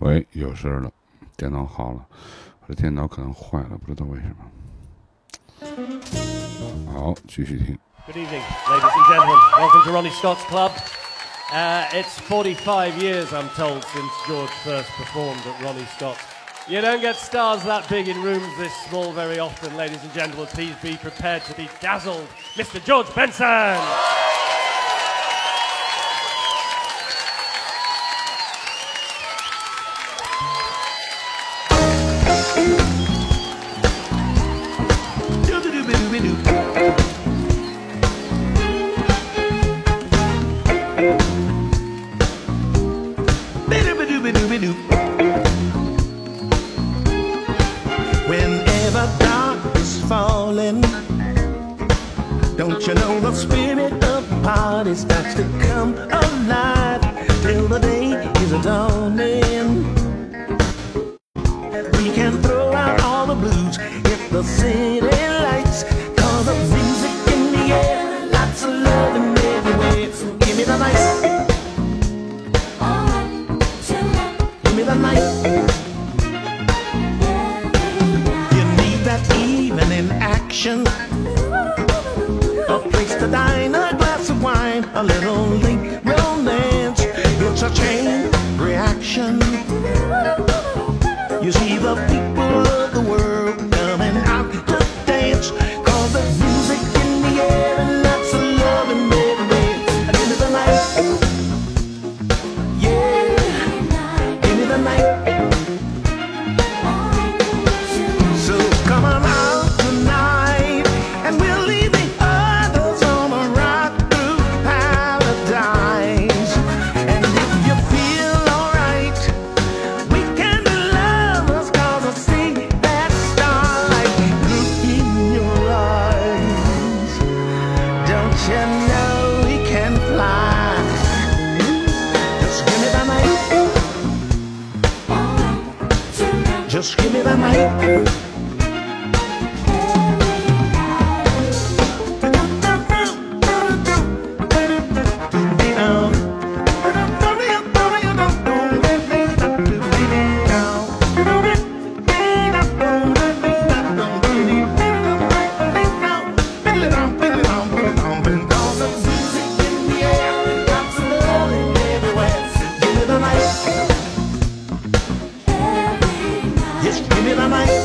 喂，有声了，电脑好了，我的电脑可能坏了，不知道为什么。好，继续听。 Good evening, ladies and gentlemen. Welcome to Ronnie Scott's Club. It's 45 years, I'm told, since George first performed at Ronnie Scott's. You don't get stars that big in rooms this small very often, ladies and gentlemen. Please be prepared to be dazzled. Mr. George Benson! Whenever dark is falling, don't you know the spirit of the party starts to come alive till the day is dawning. We can throw out all the blues, hit the city lights, cause the music in the air, lots of loving everywhere. So give me the night. Give me the night. You need that evening action, a place to dine, a glass of wine, a little late romance. It's a chain reaction. You see the people of the world coming out to dance, cause the music in the air and lots of love and everywhere. Give me the night. Yeah, give me the night. So come on out tonight, and we'll leave the others on a ride through paradise. And if you feel alright, we can be lovers, cause I see that starlight look in your eyes. Don't you know we can fly? Just give me the night. Just give me the night. Yes, give me the night.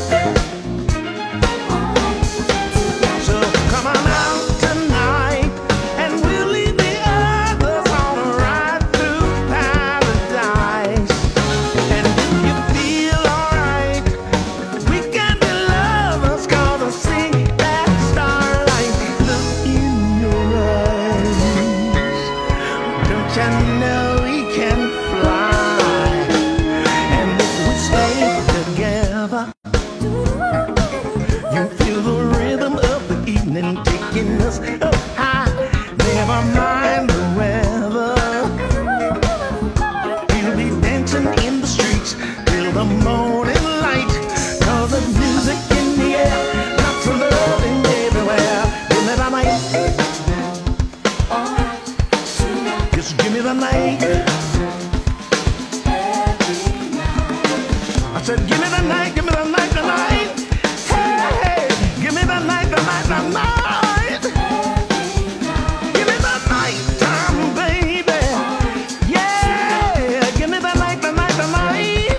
So come on out tonight, and we'll leave the others on a ride through paradise. And if you feel alright, we can be lovers, cause I see that starlight look in your eyes. Don't you know we can fly? And if we stay together, you feel the rhythm of the evening taking us up high. Never mind the weather, we'll be dancing in the streets till the morning light. Cause the music in the air, lots of loving everywhere. Give me the night. Just give me the night. I said, give me the night, give me the night, the night. Hey, hey, give me the night, the night, the night. Give me the night time, baby. Yeah, give me the night, the night, the night.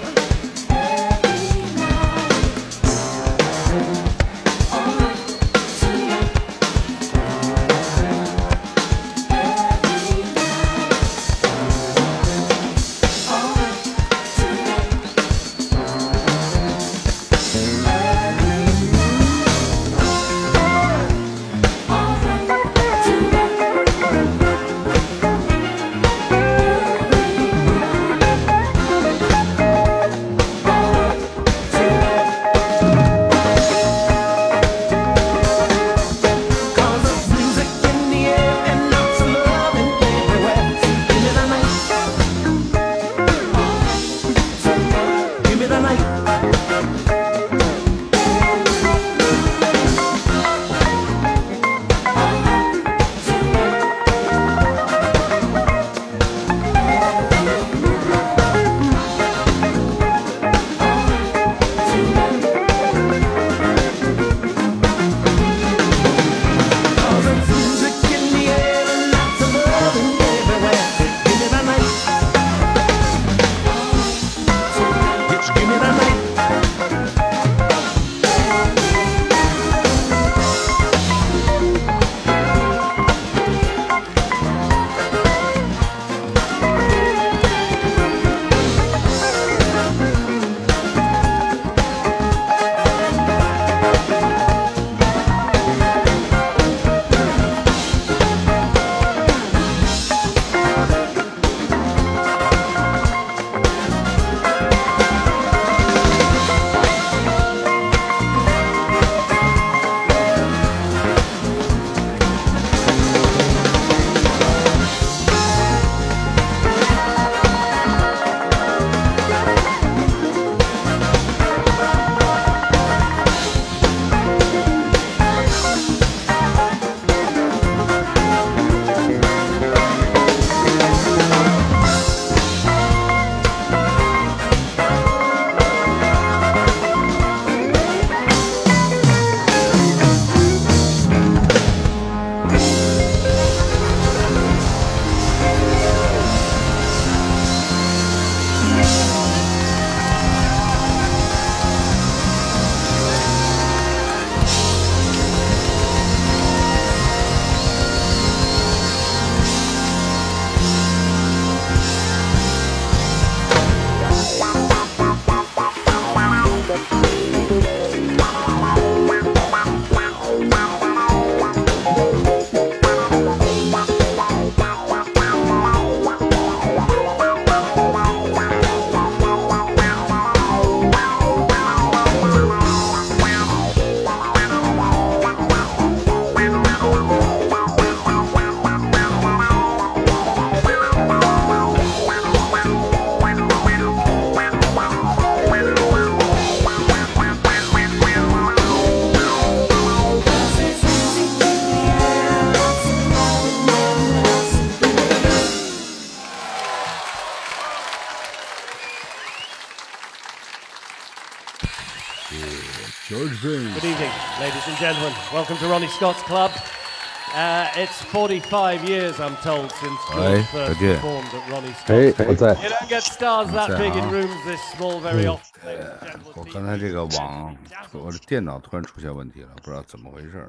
George Benson. Good evening, ladies and gentlemen. Welcome to Ronnie Scott's Club. It's 45 years, I'm told, since George first okay. performed at Ronnie 哎 Scott's. 我在 You don't get stars that big in rooms this small very often. ladies and gentlemen. 我刚才这个网，我的电脑突然出现问题了，不知道怎么回事了。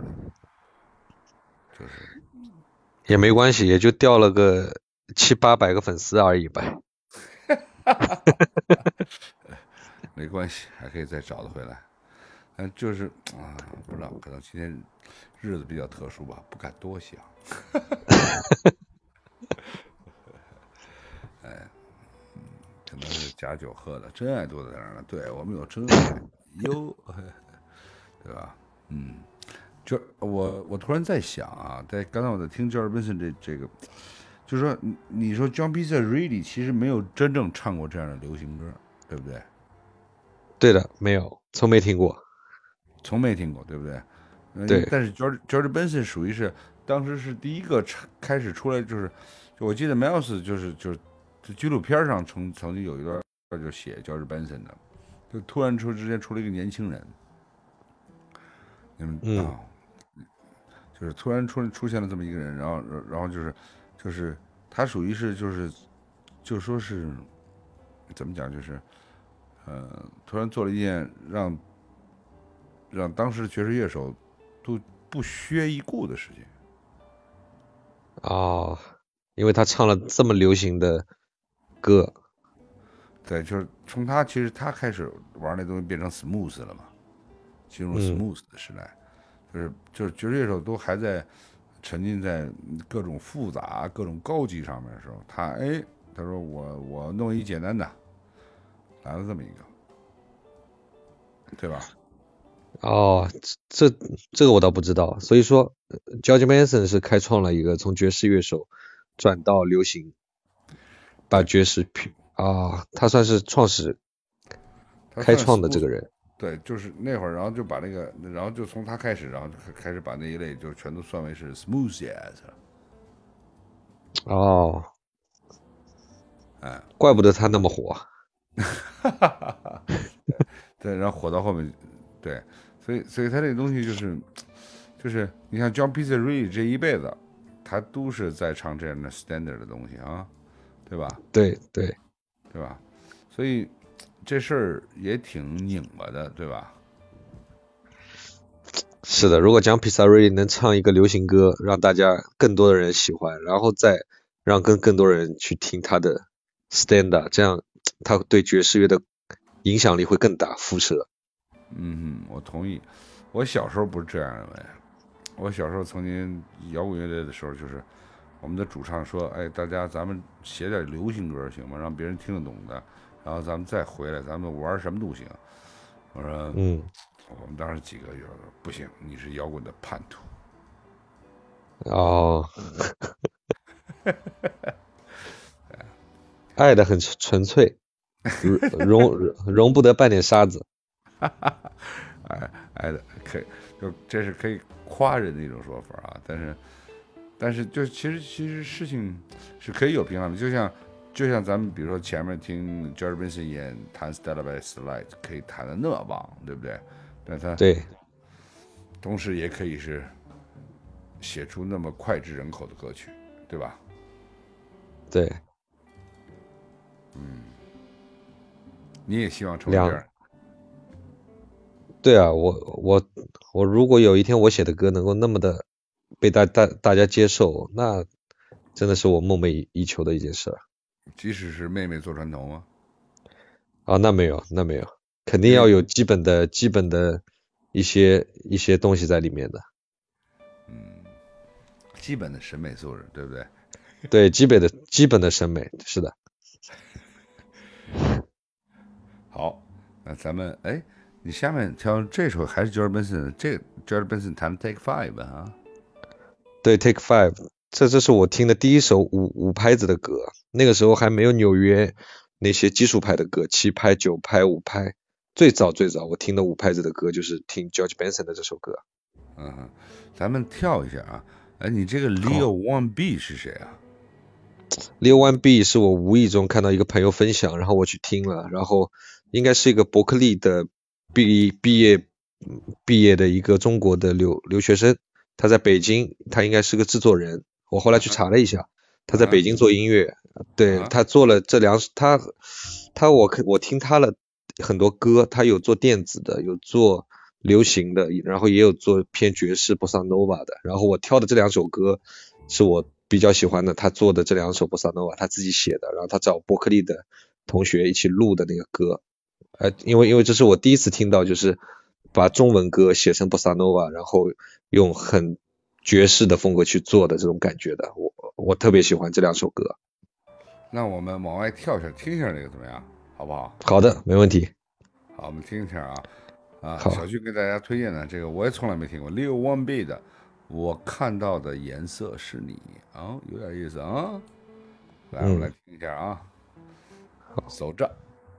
就是也没关系，也就掉了个700-800个粉丝而已吧。 没关系，还可以再找得回来。就是不知道，可能今天日子比较特殊吧，不敢多想。可能是假酒喝的，真爱多在哪儿呢？对我们有真爱哟，对吧？就我突然在想啊，在刚才我在听 George Benson 这个，就是说你说 John Pizzarelli 其实没有真正唱过这样的流行歌，对不对？ 对的，没有，从没听过。 从没听过，对不对？ 对。 但是 George Benson 属于是当时是第一个开始出来，就我记得 Miles 就是纪录片上曾经有一段就写 George Benson 的，就突然之间出了一个年轻人，就是突然出现了这么一个人，然后就是他属于是就说是怎么讲，就是突然做了一件让当时的爵士乐手都不屑一顾的事情。 哦，因为他唱了这么流行的歌。 对，就是从他其实他开始玩那东西变成 smooth 了嘛，进入 smooth 的时代，就是爵士乐手都还在沉浸在各种复杂、各种高级上面的时候，他说我弄一简单的，来了这么一个，对吧？ 哦，这个我倒不知道。所以说 George Benson 是开创了一个从爵士乐手转到流行，把爵士他算是开创的这个人。 对，就是那会儿，然后就把那个，然后就从他开始，然后就开始把那一类就全都算为是 smooth jazz 了。 哦，怪不得他那么火。 对，然后火到后面，对，所以他这个东西就是你像 John Pizzarelli 这一辈子，他都是在唱这样的 standard 的东西啊，对吧？ 对吧？所以这事儿也挺拧巴的，对吧？ 是的，如果John Pizzarelli能唱一个流行歌，让大家更多的人喜欢，然后再让更多人去听他的 standard， 这样他对爵士乐的影响力会更大，辐射。 我同意。我小时候不是这样认为，我小时候曾经摇滚乐队的时候，就是我们的主唱说：“哎，大家咱们写点流行歌行吗？让别人听得懂的，然后咱们再回来，咱们玩什么都行。”我说：“我们当时几个就说不行，你是摇滚的叛徒。” 哦，爱的很纯粹，容不得半点沙子。 爱的可以，就这是可以夸人的一种说法啊。但是就其实事情是可以有平衡的，就像咱们比如说前面听 George Benson 弹 Stella by Slide 可以弹的那么棒，对不对？但他对， 同时也可以是写出那么脍炙人口的歌曲，对吧？ 对， 你也希望成为这样？ 对啊，我如果有一天我写的歌能够那么的被大家接受，那真的是我梦寐以求的一件事。 即使是妹妹坐船头吗？ 那没有，肯定要有基本的一些东西在里面的。 基本的审美素质，对不对？ 对，基本的审美，是的。 好，那咱们你下面挑这首还是 George Benson， 这个 George Benson 弹 Take 5啊？ 对 ，Take 5，这是我听的第一首五拍子的歌，那个时候还没有纽约那些基础拍的歌，7拍、9拍、5拍。最早我听的5拍子的歌就是听 George Benson 的这首歌。 咱们跳一下啊。你这个 Leo 1B 是谁啊 ？Leo 1B 是我无意中看到一个朋友分享，然后我去听了，然后应该是一个伯克利的毕业毕业的一个中国的留学生，他在北京，他应该是个制作人。我后来去查了一下，他在北京做音乐，对，他做了这两，我听他了很多歌，他有做电子的，有做流行的，然后也有做偏爵士波萨诺瓦的。然后我挑的这2首歌是我比较喜欢的，他做的这2首波萨诺瓦他自己写的，然后他找伯克利的同学一起录的那个歌。因为这是我第一次听到，就是把中文歌写成波萨诺瓦，然后用很爵士的风格去做的这种感觉的，我特别喜欢这2首歌。 那我们往外跳一下，听一下这个怎么样？好不好？ 好的，没问题。 好，我们听一下啊。 好， 小俊给大家推荐的这个我也从来没听过，Lil Wayne B 的《我看到的颜色是你》啊，有点意思啊。来，我们来听一下啊。走着。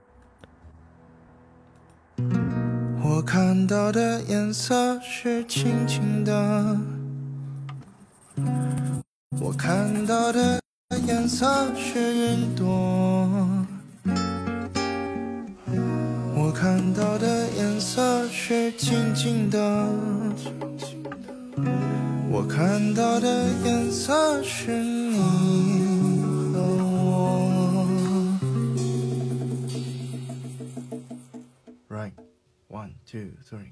我看到的颜色是轻轻的，我看到的颜色是云朵，我看到的颜色是静静的，我看到的颜色是你和我。Right, 1, 2, 3.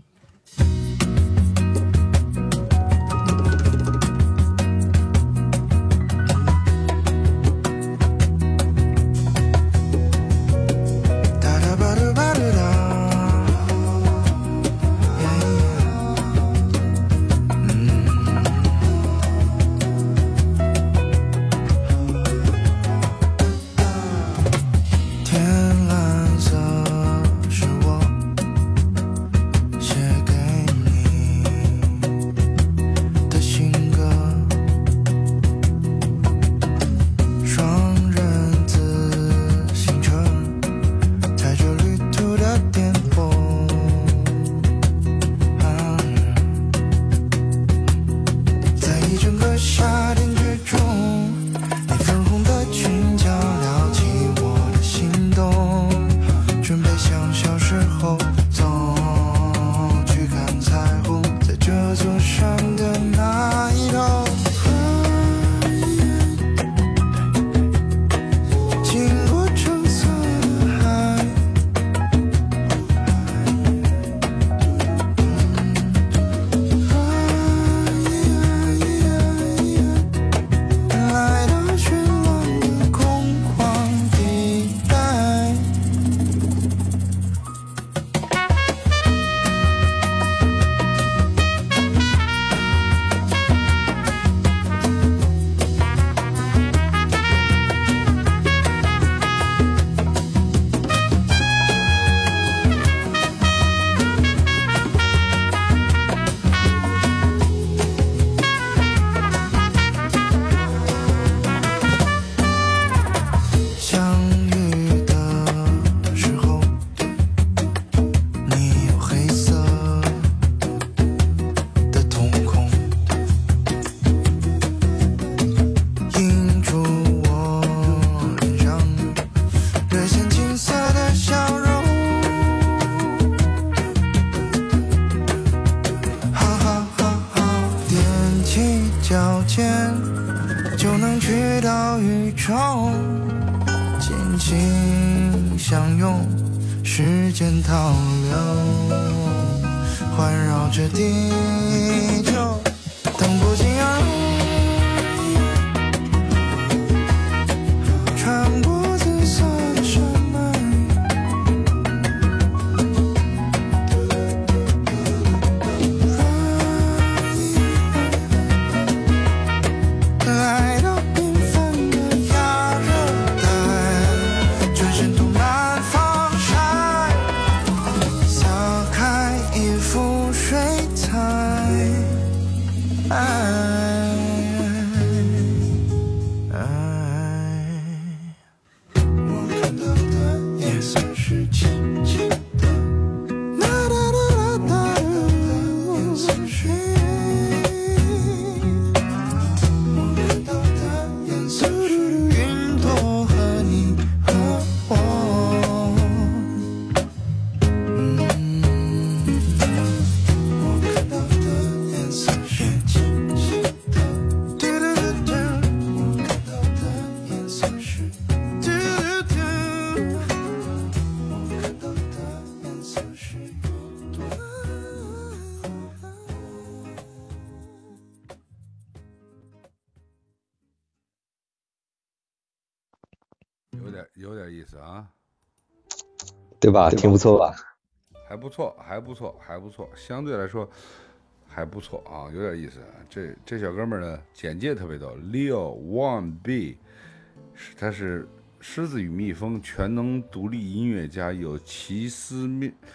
有点意思啊， 对吧？挺不错吧？ 还不错，相对来说还不错啊，有点意思。这小哥们儿呢，简介特别逗 ，Leo Wan B， 他是狮子与蜜蜂全能独立音乐家，有奇思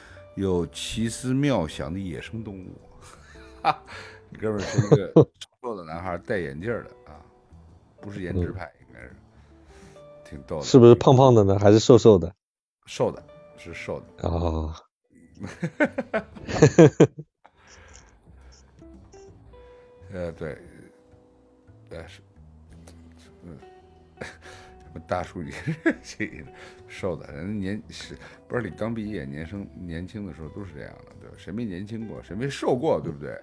妙想的野生动物。哈，哥们儿是一个瘦的男孩，戴眼镜的啊，不是颜值派，应该是挺逗的。 是不是胖胖的呢？还是瘦瘦的？ 瘦的，是瘦的。 哦。 对，是，什么大叔也是瘦的，人不是你刚毕业，年轻的时候都是这样的，对吧？谁没年轻过，谁没瘦过，对不对？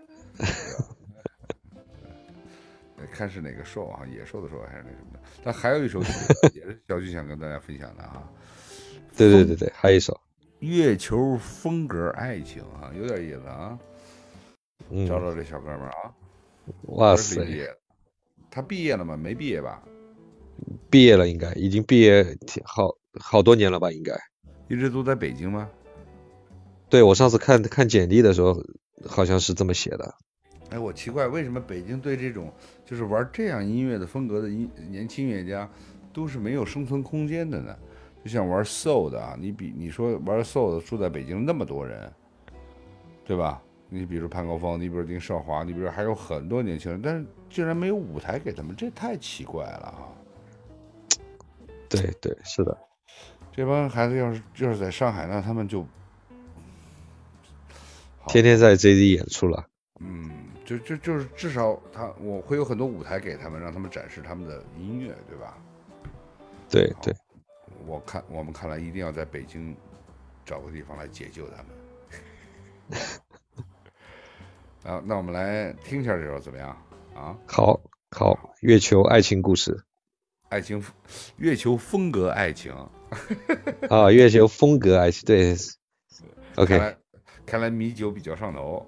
看是哪个瘦啊，野兽的瘦还是那什么的。但还有一首曲子也是小曲想跟大家分享的啊。 对，还有一首月球风格爱情啊，有点意思啊。找找这小哥们儿啊。 哇塞！ 他毕业了吗？没毕业吧？ 毕业了，应该已经毕业好多年了吧？应该一直都在北京吗？ 对，我上次看简历的时候，好像是这么写的。 哎，我奇怪，为什么北京对这种就是玩这样音乐的风格的年轻音乐家都是没有生存空间的呢？就像玩 soul 的啊，你说玩 soul 的住在北京那么多人，对吧？你比如潘高峰，你比如丁少华，你比如还有很多年轻人，但是竟然没有舞台给他们，这太奇怪了啊！ 对，是的。 这帮孩子要是在上海，那他们就天天在 JZ 演出了。 就是至少我会有很多舞台给他们，让他们展示他们的音乐，对吧？ 对。 我们看来一定要在北京找个地方来解救他们。啊，那我们来听一下这首怎么样啊？ 好，月球爱情故事。 月球风格爱情。 啊，月球风格爱情，对。OK。 看来米酒比较上头。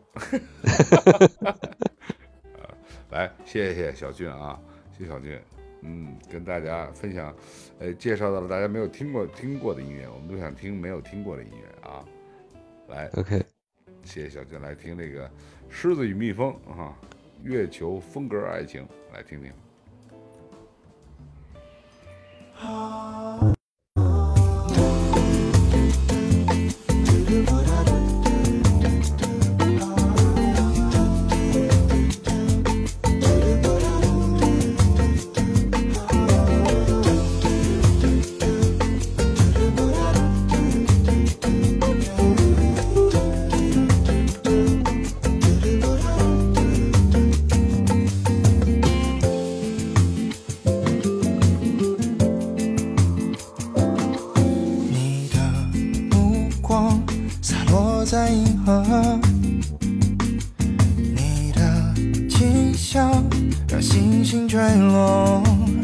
来，谢谢小俊啊，谢谢小俊。跟大家分享，介绍到了大家没有听过的音乐，我们都想听没有听过的音乐啊。来 ，OK， 谢谢小俊，来听这个《狮子与蜜蜂》啊，月球风格爱情，来听听。 在银河，你的气象让星星坠落，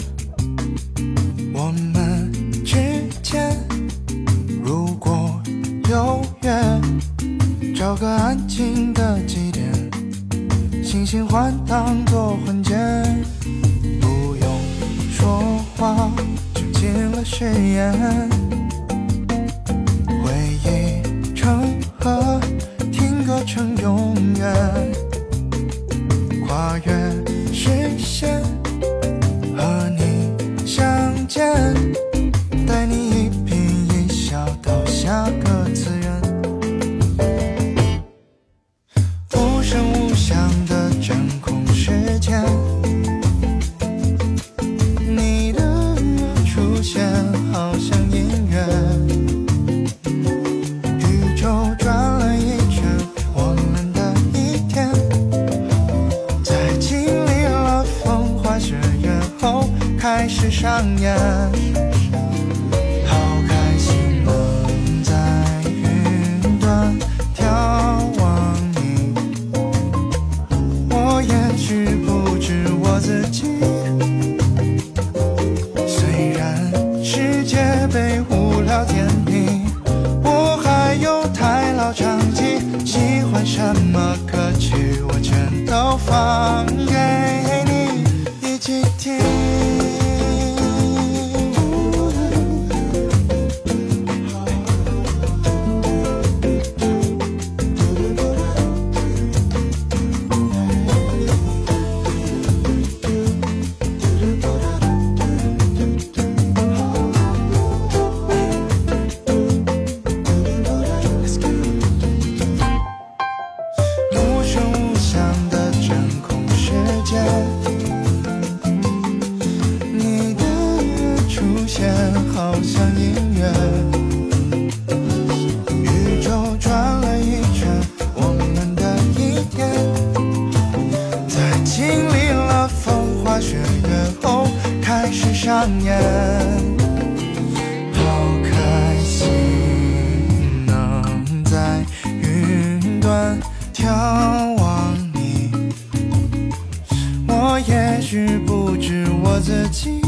我们之间如果有约，找个安静的祭典，星星换当作婚戒，不用说话就进了誓言，回忆成河，听歌成永远，跨越视线和你相见，带你一颦一笑到下个次元，无声无响的真空时间，你的出现好像音乐，宇宙转了一圈，我们的一天，在经历了风花雪月后开始上演，好开心能在云端眺望你，我也许不止我自己，虽然世界被无聊填平，我还有台老唱机，喜欢什么歌曲我全都放给你一起听。 念。好开心能在云端眺望你，我也许不止我自己。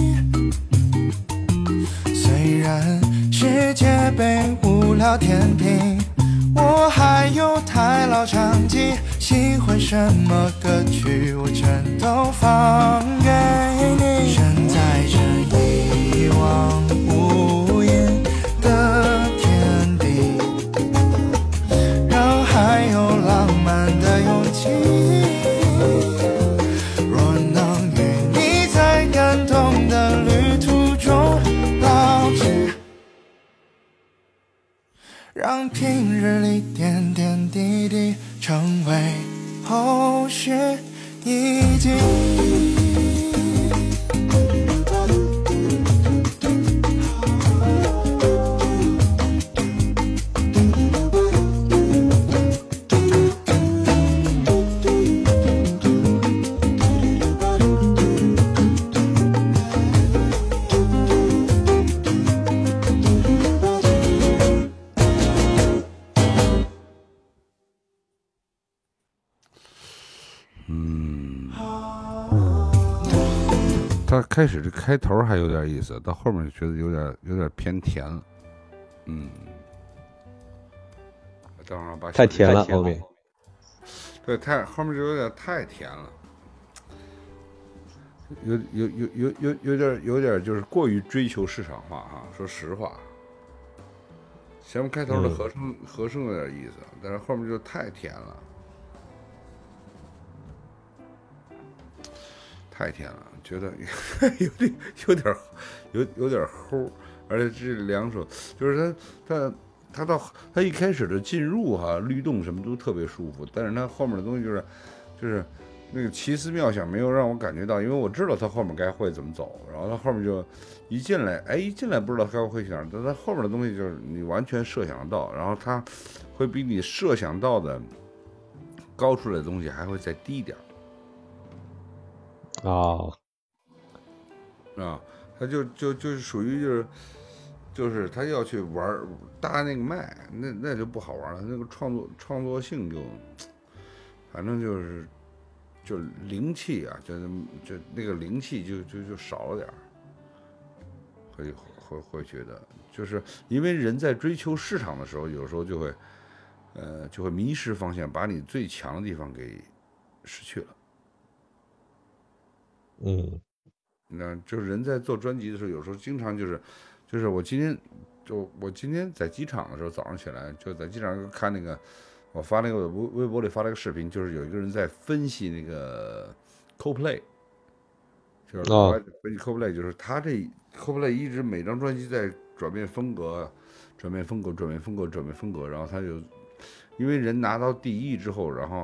虽然世界被无聊填平，我还有台老唱机，喜欢什么歌曲我全都放给你。身在这一望无垠的天地，让还有浪漫的勇气。若能与你在感动的旅途中老去，让平日里点点滴滴成为后续一集。 他开始这开头还有点意思，到后面就觉得有点偏甜了。等会儿把太甜了后面。 对，后面就有点太甜了，有点就是过于追求市场化哈。说实话，前面开头的和声有点意思，但是后面就太甜了。太甜了，觉得有点齁，而且这两首就是他一开始的进入哈律动什么都特别舒服，但是他后面的东西就是那个奇思妙想没有让我感觉到，因为我知道他后面该会怎么走，然后他后面就一进来不知道该会去哪儿，但他后面的东西就是你完全设想得到，然后他会比你设想到的高出来的东西还会再低一点。他就是属于就是他要去玩搭那个麦，那就不好玩了，那个创作性就反正就灵气啊，就那个灵气就少了点儿，会觉得就是因为人在追求市场的时候，有时候就会迷失方向，把你最强的地方给失去了。那就是人在做专辑的时候，有时候经常就是我今天在机场的时候，早上起来就在机场看那个，我发那个微博里发了个视频，就是有一个人在分析那个 Coldplay， 就是分析 Coldplay， 就是他这 Coldplay 一直每张专辑在转变风格，然后他就因为人拿到第一之后，然后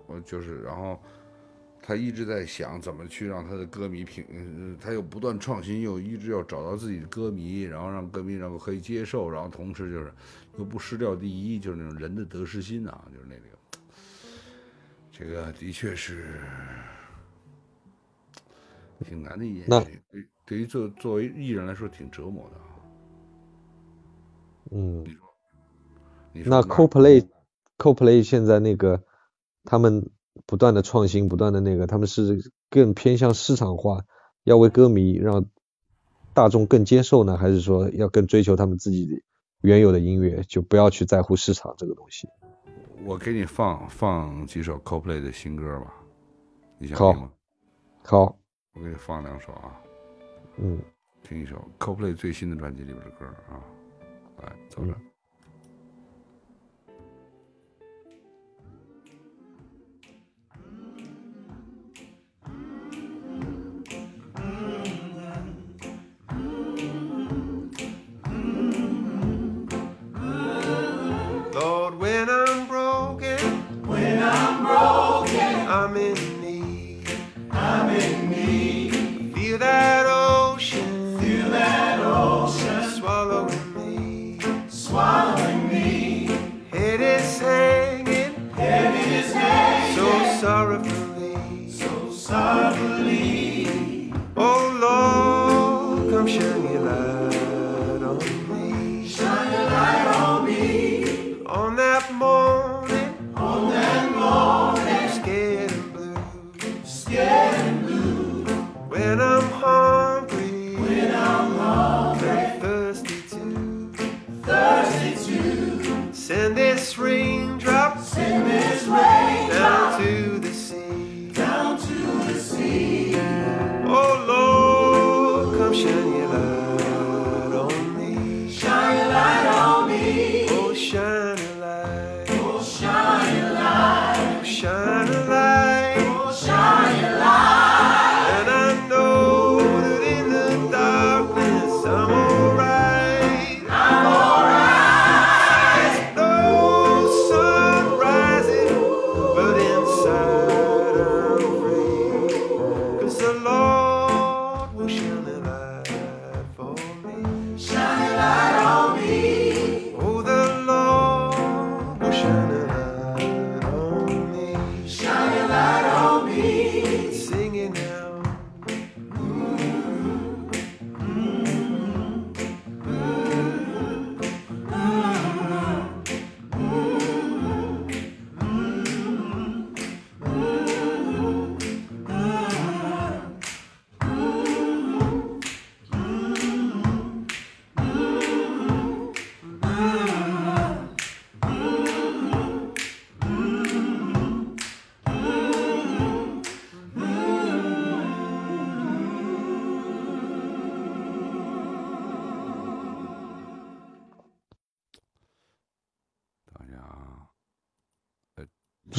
他一直在想怎么去让他的歌迷他又不断创新，又一直要找到自己的歌迷，然后让歌迷能够可以接受，然后同时就是又不失掉第一，就是那种人的得失心啊，就是那个，这个的确是挺难的一件事情，对于作为艺人来说挺折磨的。你说那 Coldplay 现在那个他们不断的创新，不断的那个，他们是更偏向市场化，要为歌迷让大众更接受呢，还是说要更追求他们自己原有的音乐，就不要去在乎市场这个东西？ 我给你放几首 Coldplay 的新歌吧，你想听吗？ 好， 我给你放两首啊。听一首 Coldplay 最新的专辑里边的歌啊，来走着。 Lord, when I'm broken, I'm in need. Feel that ocean, swallowing me. Head is hanging, so sorrowfully. Oh Lord, come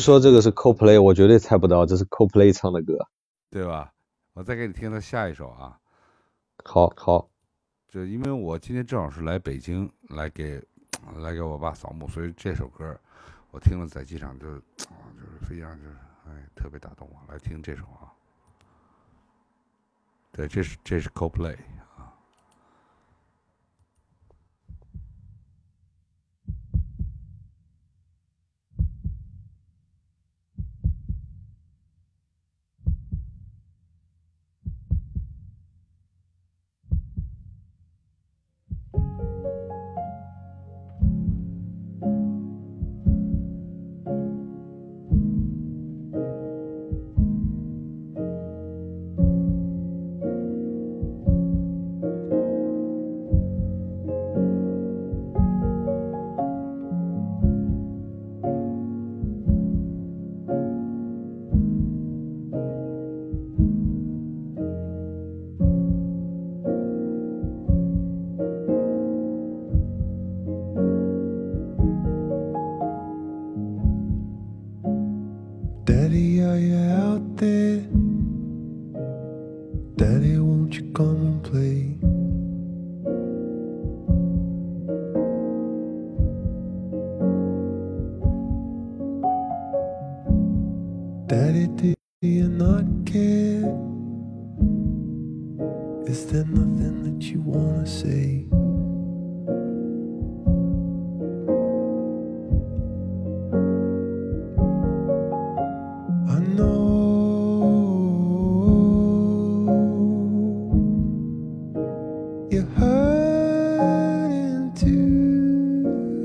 说这个是 Coldplay， 我绝对猜不到这是 Coldplay 唱的歌。 对吧？我再给你听他下一首啊。 好， 就因为我今天正好是来北京来给我爸扫墓，所以这首歌我听了在机场就是非常特别打动我。来听这首啊。对，这是 Coldplay。 Daddy, are you out there? Daddy, won't you come and play? Daddy, do you not care? Is there nothing that you wanna say? I know you're hurting too,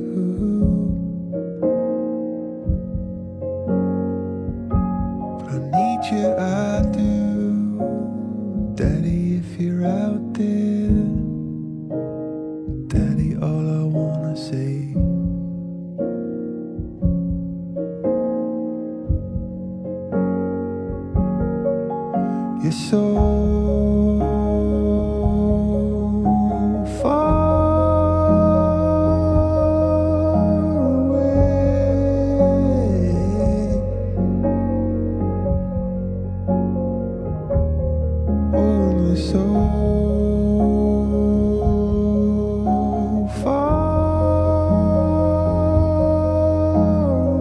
but I need you, I do. Daddy, if you're out there, Daddy, all I wanna say. You're so far away. Oh, you're so far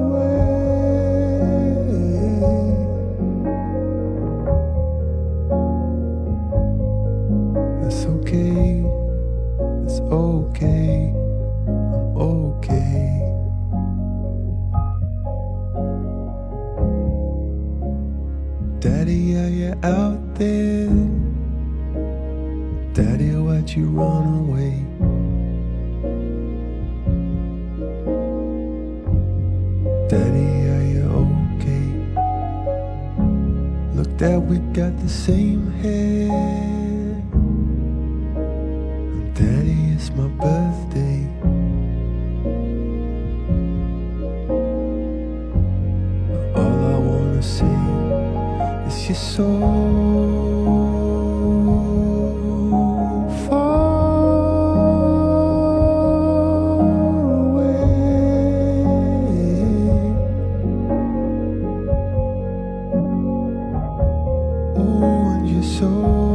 away. It's okay, it's okay, I'm okay. Daddy, are you out there? Daddy, why'd you run away? Daddy, are you okay? Look, Dad, we got the same hair. Daddy, it's my birthday. All I wanna say is you're so far away. Oh, and you're so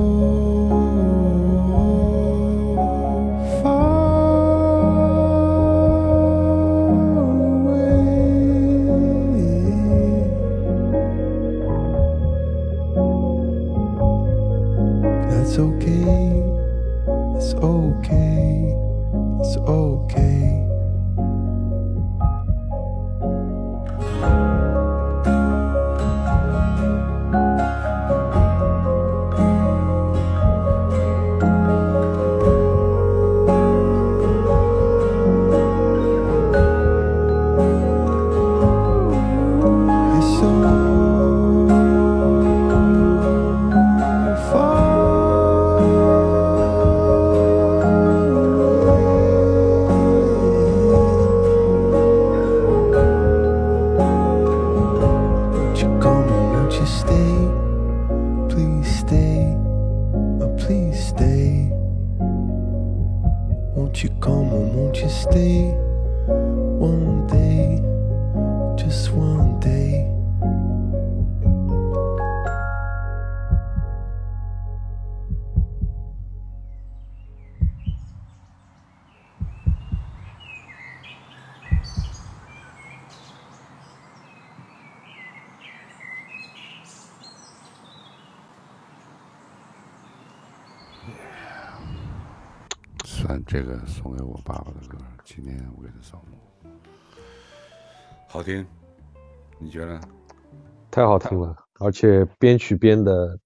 It's okay, it's okay, it's okay. You're so Won't you come and won't you stay? Please stay, oh please stay. Won't you come and won't you stay? One day, just one day. 算这个送给我爸爸的歌，今年我给他扫墓，好听，你觉得？ 太好听了，而且编曲编的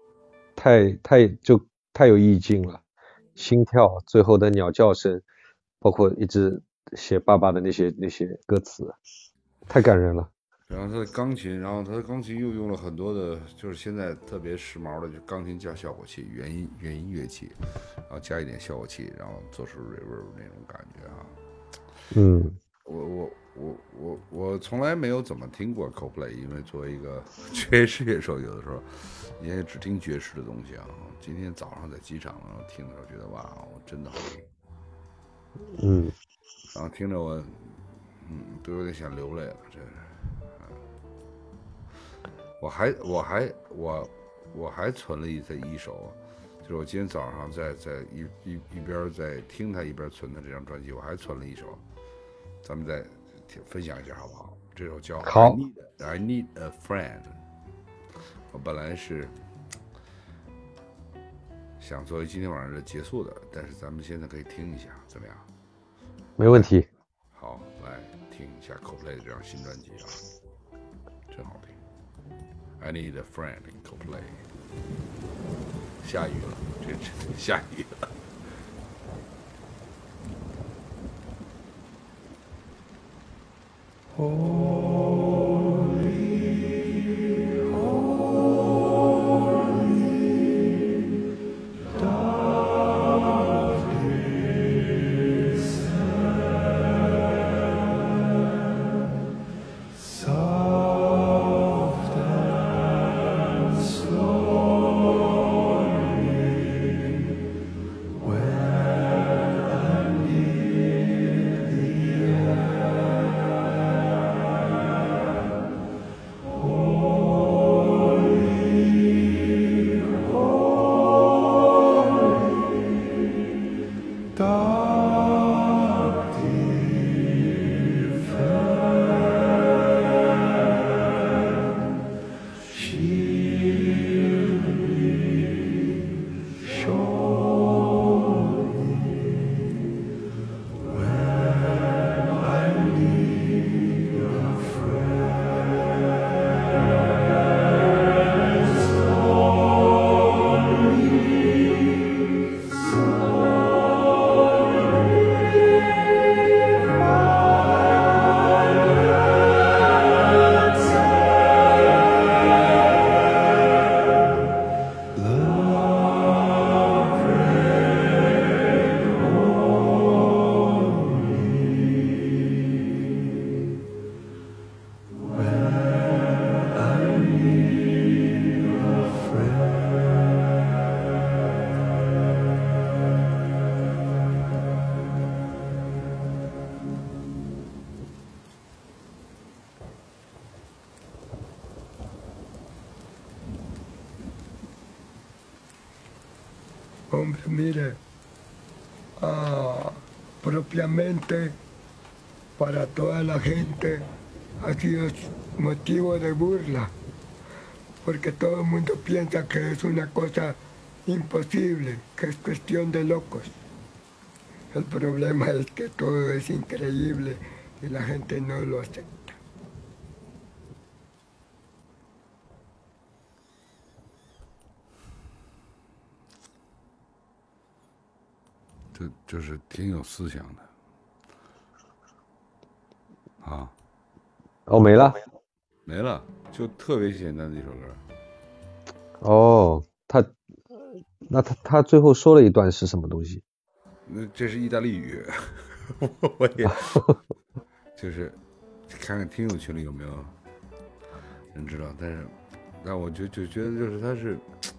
太有意境了，心跳，最后的鸟叫声，包括一直写爸爸的那些歌词，太感人了。 然后他的钢琴，然后他的钢琴又用了很多的，就是现在特别时髦的，就钢琴加效果器，原音乐器，然后加一点效果器，然后做出 reverb 那种感觉啊。 嗯， 我从来没有怎么听过 Coldplay， 因为作为一个爵士乐手，有的时候也只听爵士的东西啊。今天早上在机场然后听的时候，觉得哇，真的好听。 嗯， 然后听着我，都有点想流泪了，真是。我还存了一首，就是我今天早上在一边在听他一边存的这张专辑，我还存了一首，咱们再分享一下好不好？这首叫好 I Need a Friend。我本来是想作为今天晚上的结束的，但是咱们现在可以听一下，怎么样？ 没问题。 好，来听一下 Coldplay 的这张新专辑啊，真好听。I Need a Friend in Coldplay。下雨了，这下雨了。 Hombre, mire, propiamente para toda la gente ha sido motivo de burla, porque todo el mundo piensa que es una cosa imposible, que es cuestión de locos. El problema es que todo es increíble y la gente no lo acepta. 就是挺有思想的啊。 哦，没了。 没了，就特别简单的一首歌。 哦，他最后说了一段是什么东西？ 那这是意大利语，我也就是看看听友群里有没有人知道，但我就觉得就是他是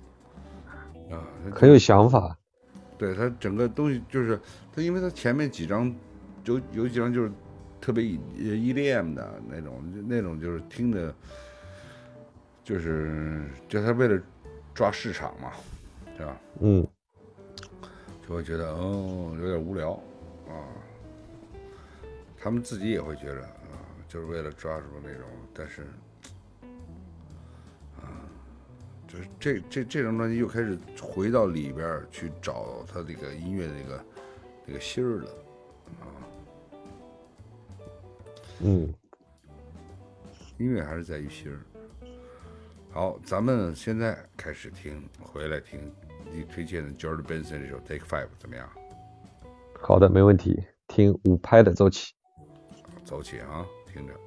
很有想法。 对，他整个东西就是他，因为他前面几张有几张就是特别EDM 的那种就是听的，就是他为了抓市场嘛，对吧？ 嗯， 就会觉得有点无聊啊。他们自己也会觉得就是为了抓住那种，但是就是这张专辑又开始回到里边去找他这个音乐的那个心儿了。音乐还是在于心儿。好，咱们现在开始回来听你推荐的 George Benson 这首 Take 5怎么样？ 好的，没问题。听5拍的走起。 走起啊，听着。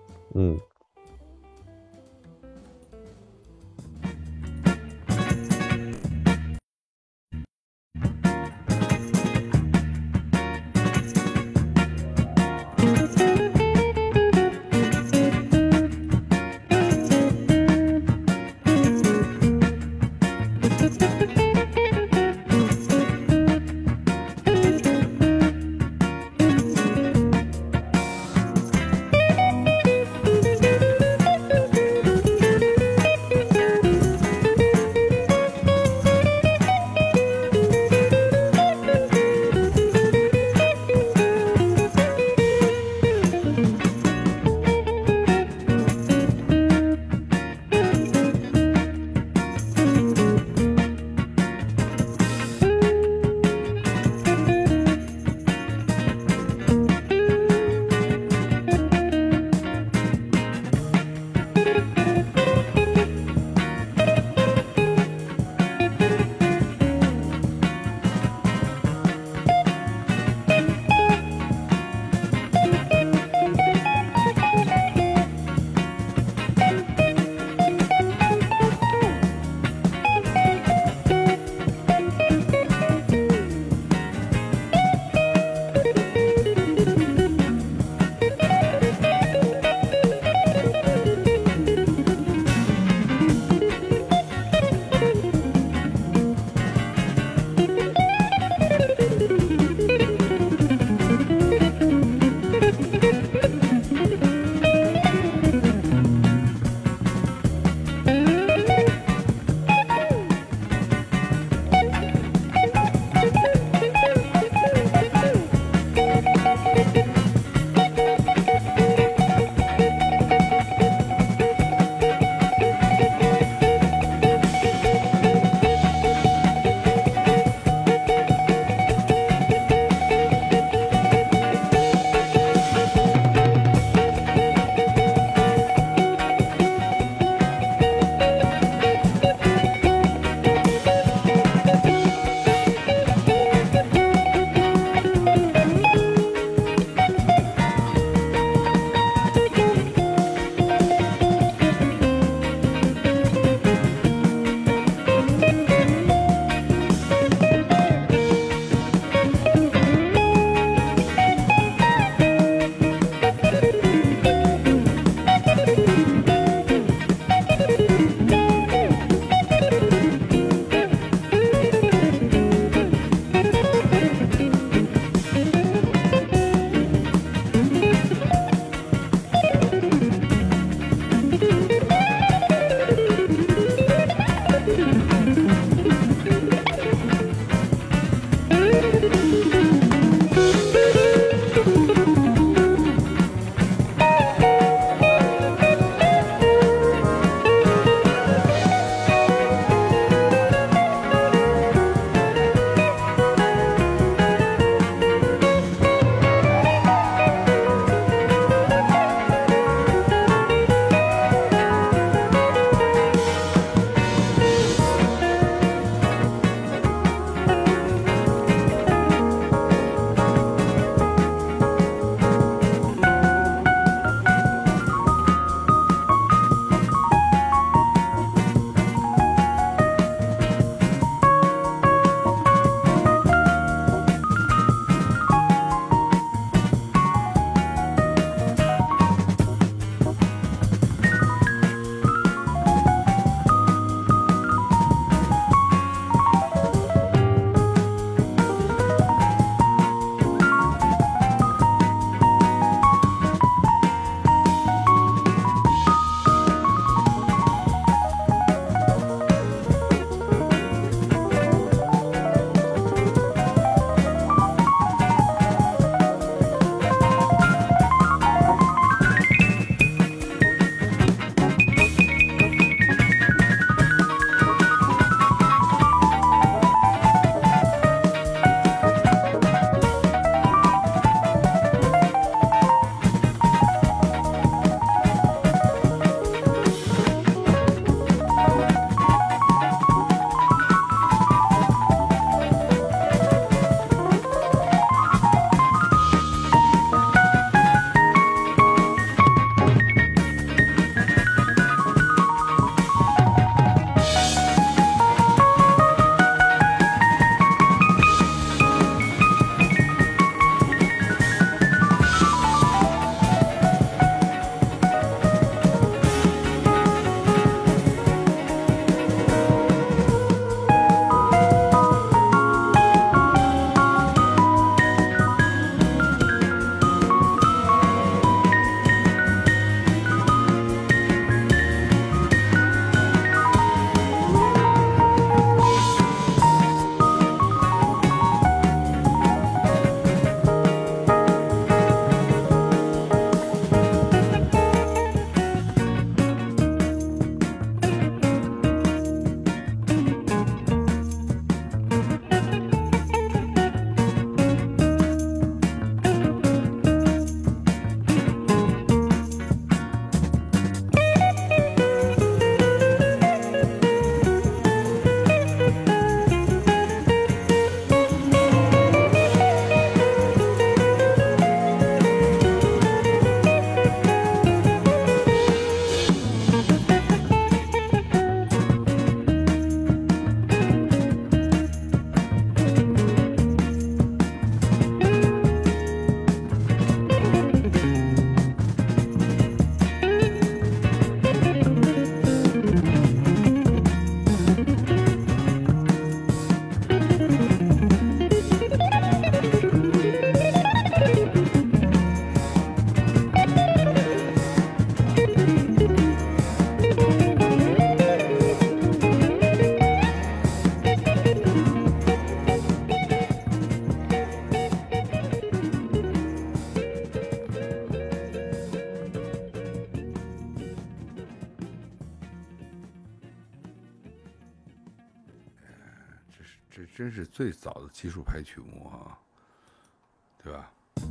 这真是最早的技术派曲目啊，对吧？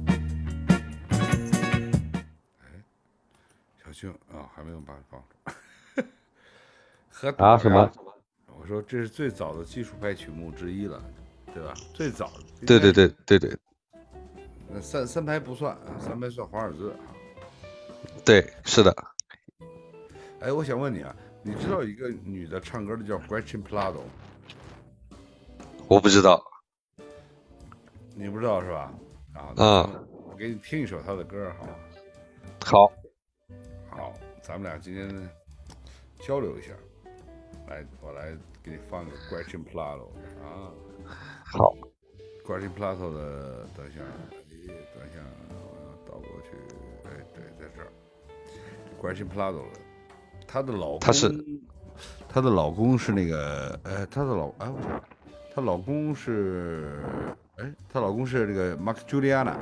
哎，小静啊，还没有把放住。和啊什么？ 我说这是最早的技术派曲目之一了，对吧？最早的。 对对对对对那三拍不算啊，三拍算华尔兹啊。 对，是的。 哎，我想问你啊，你知道一个女的唱歌的叫 Gretchen Plato？ 我不知道。 你不知道是吧？啊，我给你听一首她的歌好吗？ 好， 好，咱们俩今天交流一下。来，我来给你放个 Gretchen Plato 啊。 好。 Gretchen Plato 的，等一下，我要倒过去。哎，对，在这儿。Gretchen Plato 的，她的老公是那个，她老公是这个 Mark Juliana。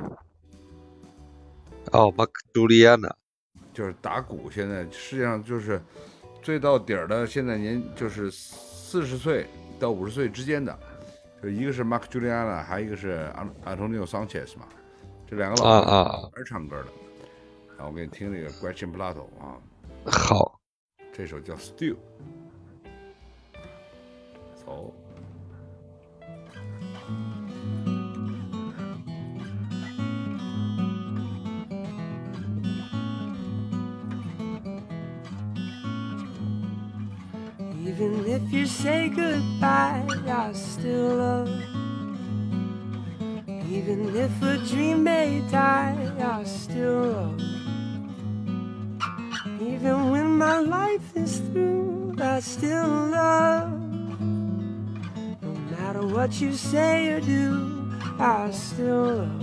哦 ，Mark Juliana 就是打鼓，现在世界上就是最到底儿的，现在就是40岁到50岁之间的，就一个是 Mark Juliana， 还有一个是 Antonio Sanchez 嘛，这两个老儿唱歌的。我给你听这个 Gretchen Plato 啊。 好， 这首叫 Still。走。 Even if you say goodbye, I still love. Even if a dream may die, I still love. Even when my life is through, I still love. No matter what you say or do, I still love.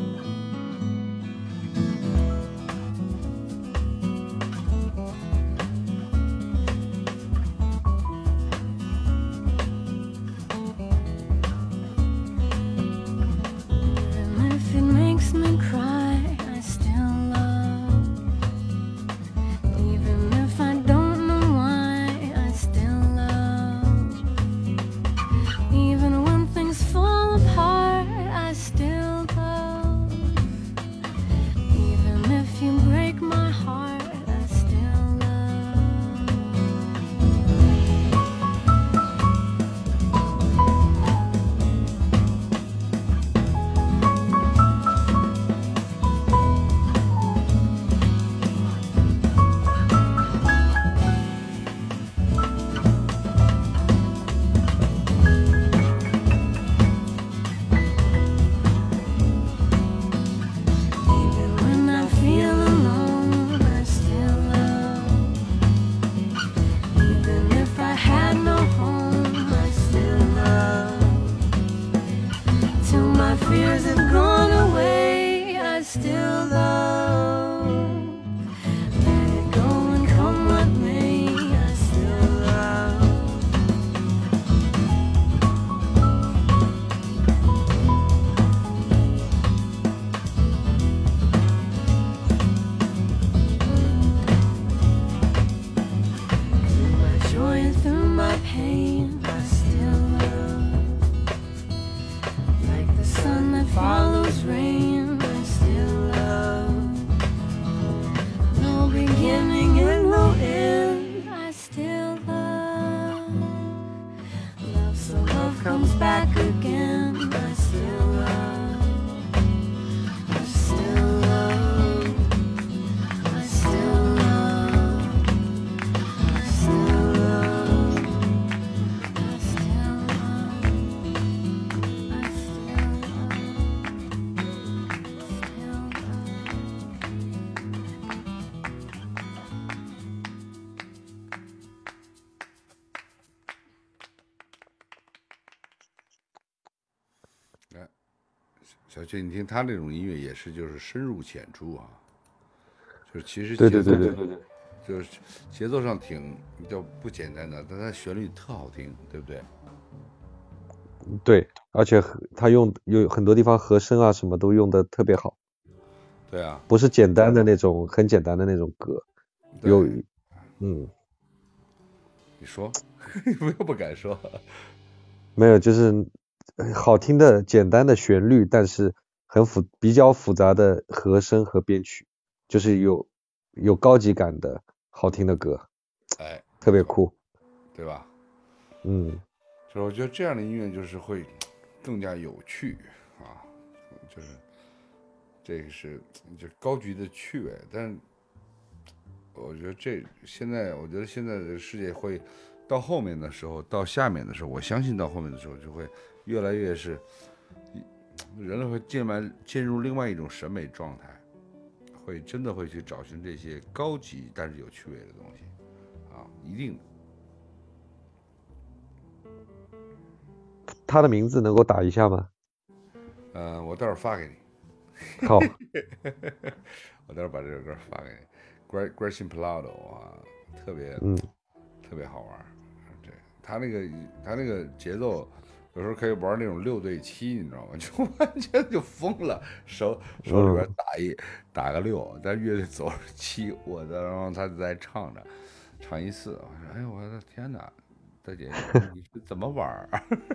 小俊，你听他这种音乐也是就是深入浅出啊，就是其实对， 就是节奏上挺就不简单的，但它旋律特好听，对不对？ 对，而且他有很多地方和声啊什么都用的特别好。 对啊， 不是简单的那种很简单的那种歌，有你说，我又不敢说。 没有，就是好听的简单的旋律，但是比较复杂的和声和编曲，就是有高级感的好听的歌， 哎， 特别酷。 对吧？ 嗯， 就是我觉得这样的音乐就是会更加有趣啊，就是这个是就是高级的趣味，但是我觉得现在的世界会到后面的时候，到下面的时候，我相信到后面的时候就会越来越是人类会进入另外一种审美状态，会真的会去找寻这些高级但是有趣味的东西啊，一定的。 他的名字能够打一下吗？ 我待会儿发给你。 好， 我待会儿把这首歌发给你。Grayson Plado 啊，特别好玩。对，他那个节奏，有时候可以玩那种6对7，你知道吗？就完全就疯了，手里边打个6，但乐队走7，然后他就在唱1/4，我说哎呦我的天哪！大姐，你是怎么玩？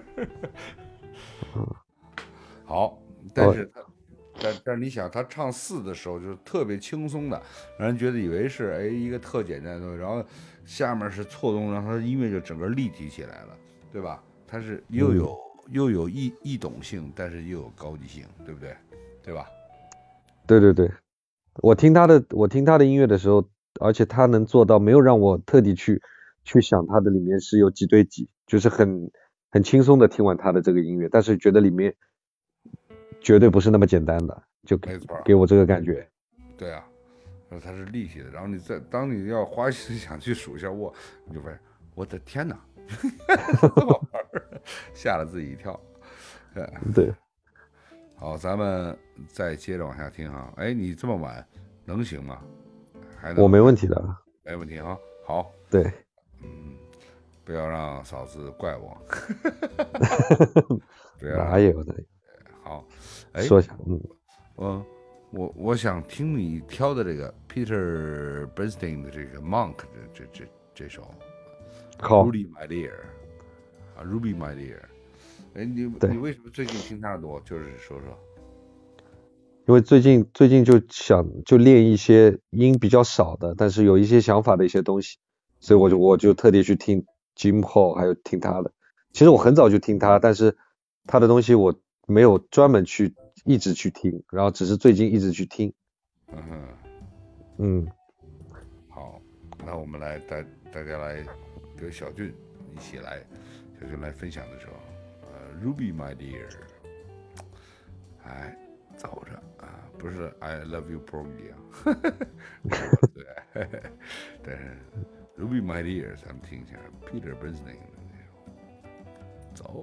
好，但是你想，他唱4的时候就是特别轻松的，让人觉得以为是一个特简单的东西，然后下面是错动，让他的音乐就整个立体起来了，对吧？它是又有易懂性，但是又有高级性，对不对？对吧？ 对对对，我听他的音乐的时候，而且他能做到没有让我特地去想他的里面是有几对几，就是很轻松的听完他的这个音乐，但是觉得里面绝对不是那么简单的，就没错， 给我这个感觉。 对啊，然后它是立体的，然后当你要花心想去数一下握，你就发现我的天哪，这么玩儿，吓了自己一跳。 对， 好，咱们再接着往下听哈。哎，你这么晚能行吗？还能？ 我没问题的。 没问题哈。好， 对， 不要让嫂子怪我。不要哪有的？ 好，哎， 说一下， 我想听你挑的这个 Peter Bernstein 的这个 Monk 这首好 Ruby My Dear 啊 Ruby My Dear， 哎，你为什么最近听他的多？就是说说。 因为最近就练一些音比较少的，但是有一些想法的一些东西，所以我就特地去听 Jim Hall， 还有听他的。其实我很早就听他，但是他的东西我没有专门一直去听，然后只是最近一直去听。 好，那我们来大家来跟小俊一起来，小俊来分享的时候，Ruby My Dear， 哎，走着啊，不是 I Love You Porgy 啊，对，但是 Ruby My Dear 咱们听一下 Peter Bernstein 的那种，走。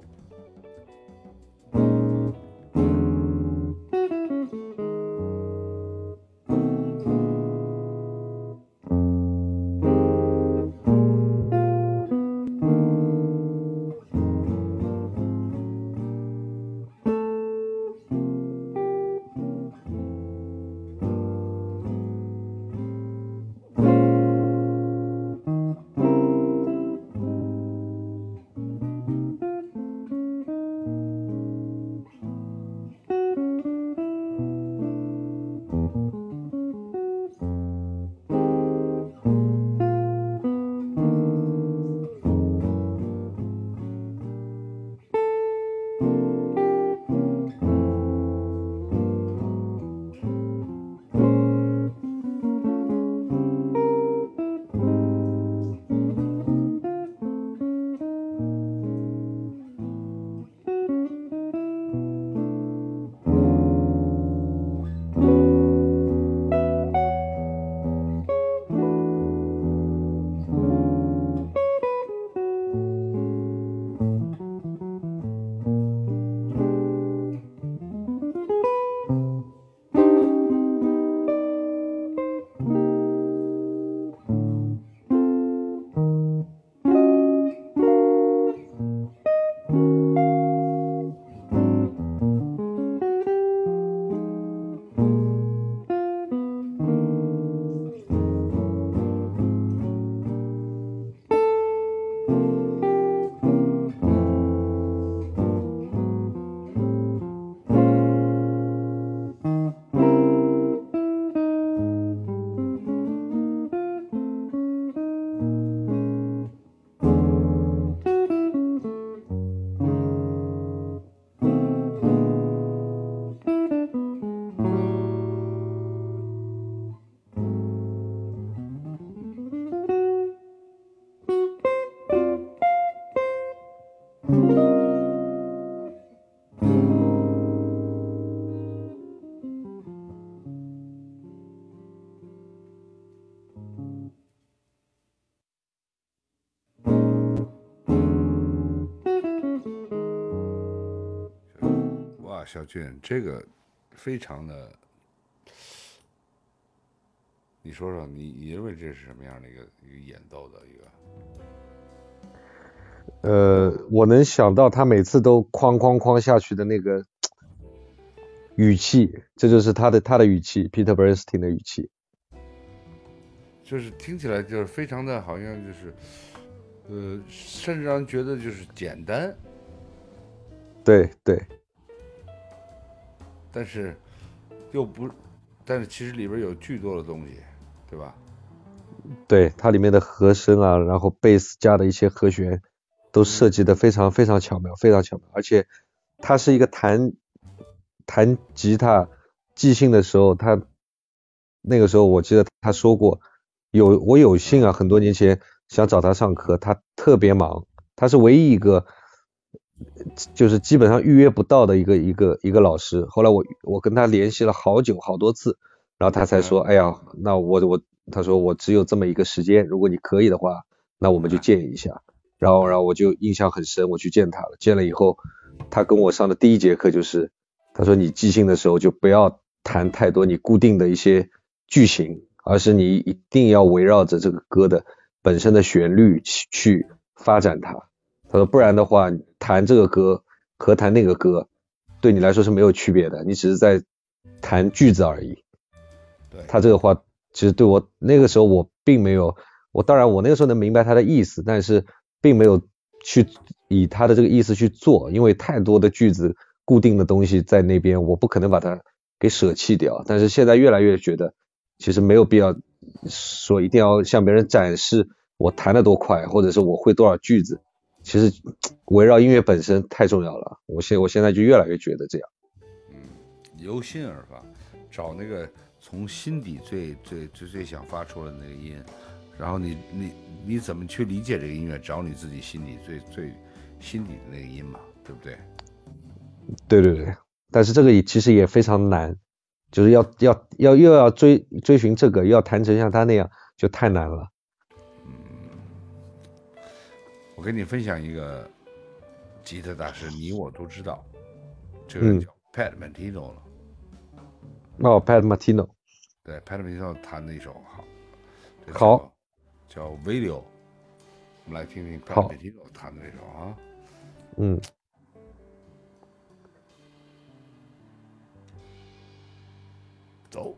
哇，小俊，这个非常的，你说说，你认为这是什么样的一个演奏的一个？ 我能想到他每次都哐哐哐下去的那个语气，这就是他的语气 ，Peter Bernstein 的语气。 就是听起来就是非常的好像就是，甚至让人觉得就是简单， 对对， 但是又不，但是其实里边有巨多的东西，对吧？ 对，它里面的和声啊，然后贝斯加的一些和弦，都设计的非常非常巧妙，非常巧妙。而且他是一个弹吉他即兴的时候，他那个时候我记得他说过，我有幸啊，很多年前想找他上课，他特别忙，他是唯一一个就是基本上预约不到的一个老师。后来我跟他联系了好久好多次，然后他才说，哎呀，那他说我只有这么一个时间，如果你可以的话，那我们就见一下。然后我就印象很深，我去见他了。见了以后，他跟我上的第一节课就是，他说你即兴的时候就不要弹太多你固定的一些句型，而是你一定要围绕着这个歌的本身的旋律去发展它。他说不然的话，弹这个歌和弹那个歌对你来说是没有区别的，你只是在弹句子而已。 对， 他这个话其实对我那个时候我并没有，当然我那个时候能明白他的意思，但是并没有去以他的这个意思去做，因为太多的句子固定的东西在那边，我不可能把它给舍弃掉。但是现在越来越觉得其实没有必要说一定要向别人展示我弹得多快，或者是我会多少句子，其实围绕音乐本身太重要了。我现在就越来越觉得这样。 由心而发，找那个从心底最想发出来的那个音，然后你怎么去理解这个音乐？找你自己心底最心底的那个音嘛，对不对？ 对对对，但是这个其实也非常难，就是又要追寻这个，又要弹成像他那样，就太难了。 我跟你分享一个吉他大师，你我都知道，这个叫 Pat Martino 了。 Pat Martino。 对 ，Pat Martino 弹的一首好， 叫 Video， 我们来听听 Pat Martino 弹的这首啊。走。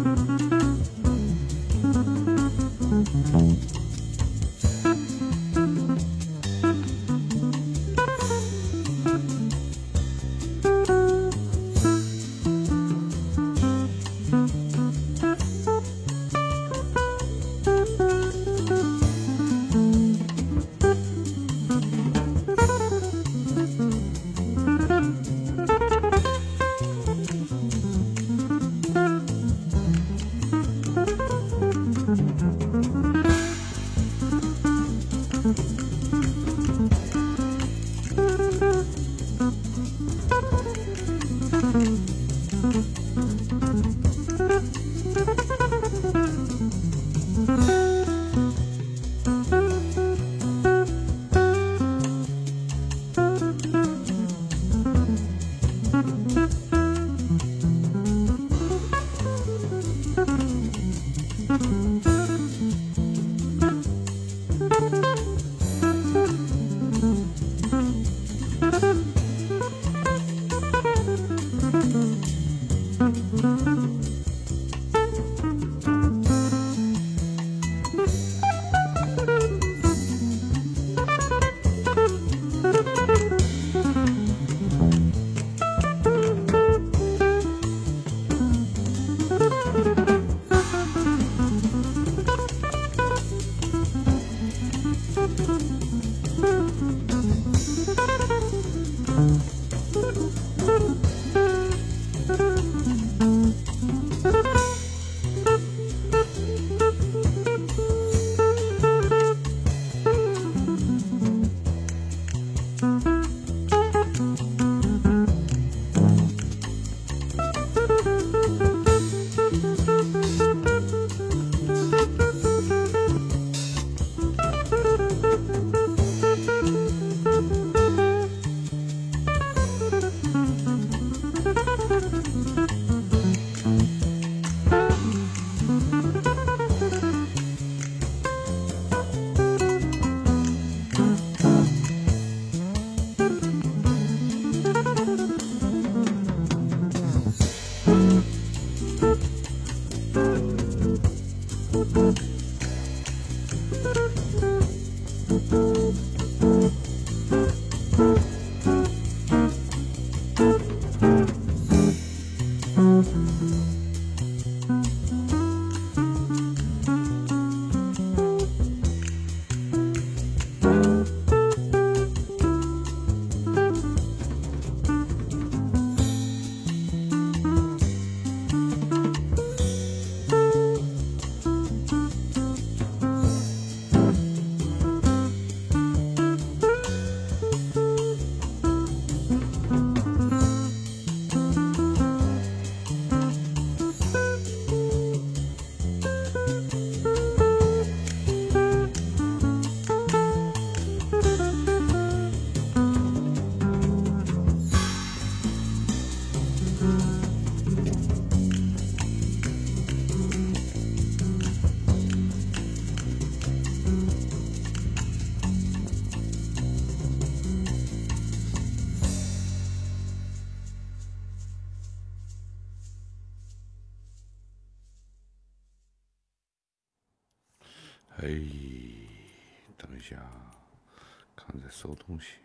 哎，等一下，看在搜东西。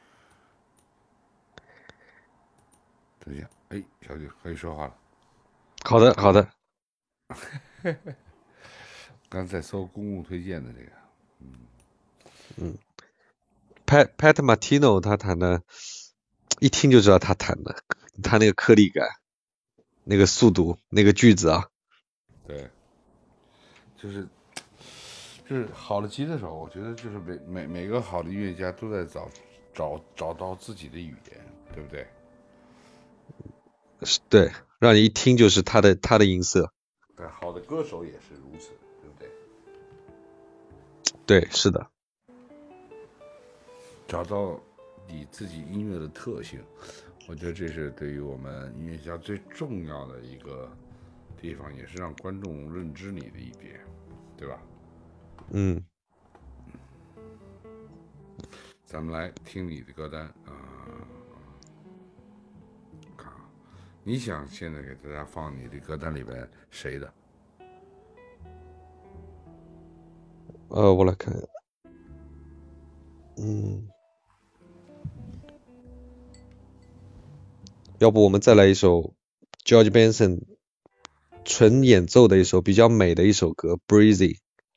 等一下，哎，小姐可以说话了。 好的，好的。 刚才搜公共推荐的这个， Pat Martino 他弹的，一听就知道他弹的，他那个颗粒感，那个速度，那个句子啊， 对，就是好的吉他手，我觉得就是每个好的音乐家都在找到自己的语言，对不对？ 对，让你一听就是他的音色。 对，好的歌手也是如此，对不对？ 对，是的。 找到你自己音乐的特性，我觉得这是对于我们音乐家最重要的一个地方，也是让观众认知你的一点，对吧？ 嗯， 咱们来听你的歌单啊，看啊， 你想现在给大家放你的歌单里边谁的？ 我来看，要不我们再来一首 George Benson 纯演奏的一首比较美的一首歌 Breezy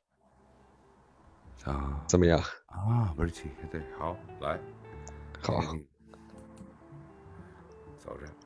啊怎么样？ 啊，不是气，对，好，来， 好， 走着。